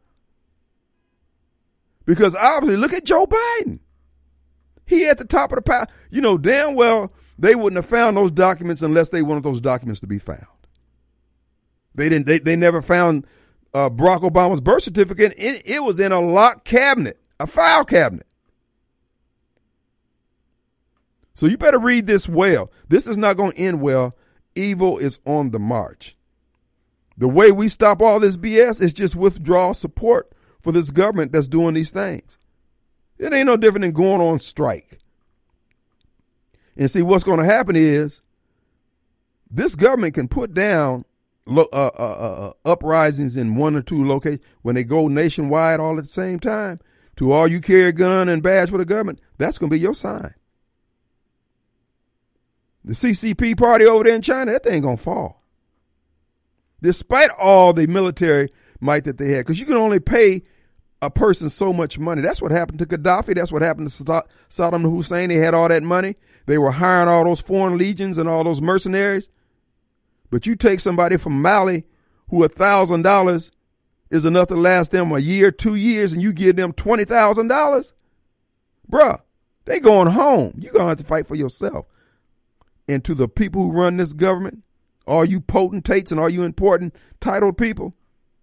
Because obviously, look at Joe Biden. He at the top of the pile. You know damn well they wouldn't have found those documents unless they wanted those documents to be found. They didn't. They, they never found uh, Barack Obama's birth certificate. It, it was in a locked cabinet, a file cabinet. So you better read this well. This is not going to end well. Evil is on the march. The way we stop all this B S is just withdraw support for this government that's doing these things. It ain't no different than going on strike. And see, what's going to happen is this government can put down uh, uh, uh, uprisings in one or two locations when they go nationwide all at the same time. To all you carry a gun and badge for the government, that's going to be your sign. The C C P party over there in China, that thing going to fall. Despite all the military might that they had, because you can only pay a person so much money. That's what happened to Gaddafi. That's what happened to Saddam Hussein. They had all that money. They were hiring all those foreign legions and all those mercenaries. But you take somebody from Mali who a thousand dollars is enough to last them a year, two years, and you give them twenty thousand dollars, bruh, they going home. You're going to have to fight for yourself. And to the people who run this government, all you potentates and all you important titled people,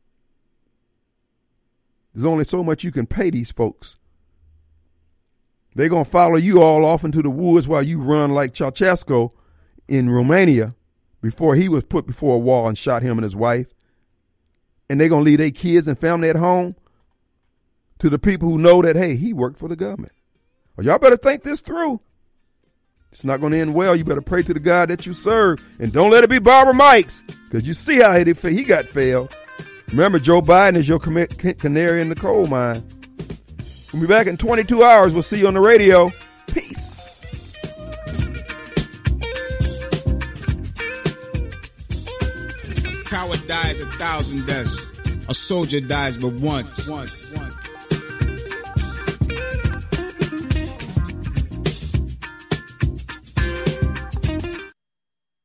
there's only so much you can pay these folks. They're going to follow you all off into the woods while you run like Ceausescu in Romania before he was put before a wall and shot him and his wife. And they're going to leave their kids and family at home to the people who know that, hey, he worked for the government. Well, y'all better think this through. It's not going to end well. You better pray to the God that you serve. And don't let it be Barbara Mikes, because you see how he, he got failed. Remember, Joe Biden is your canary in the coal mine. We'll be back in twenty-two hours. We'll see you on the radio. Peace. coward dies a thousand deaths. A soldier dies but once. once.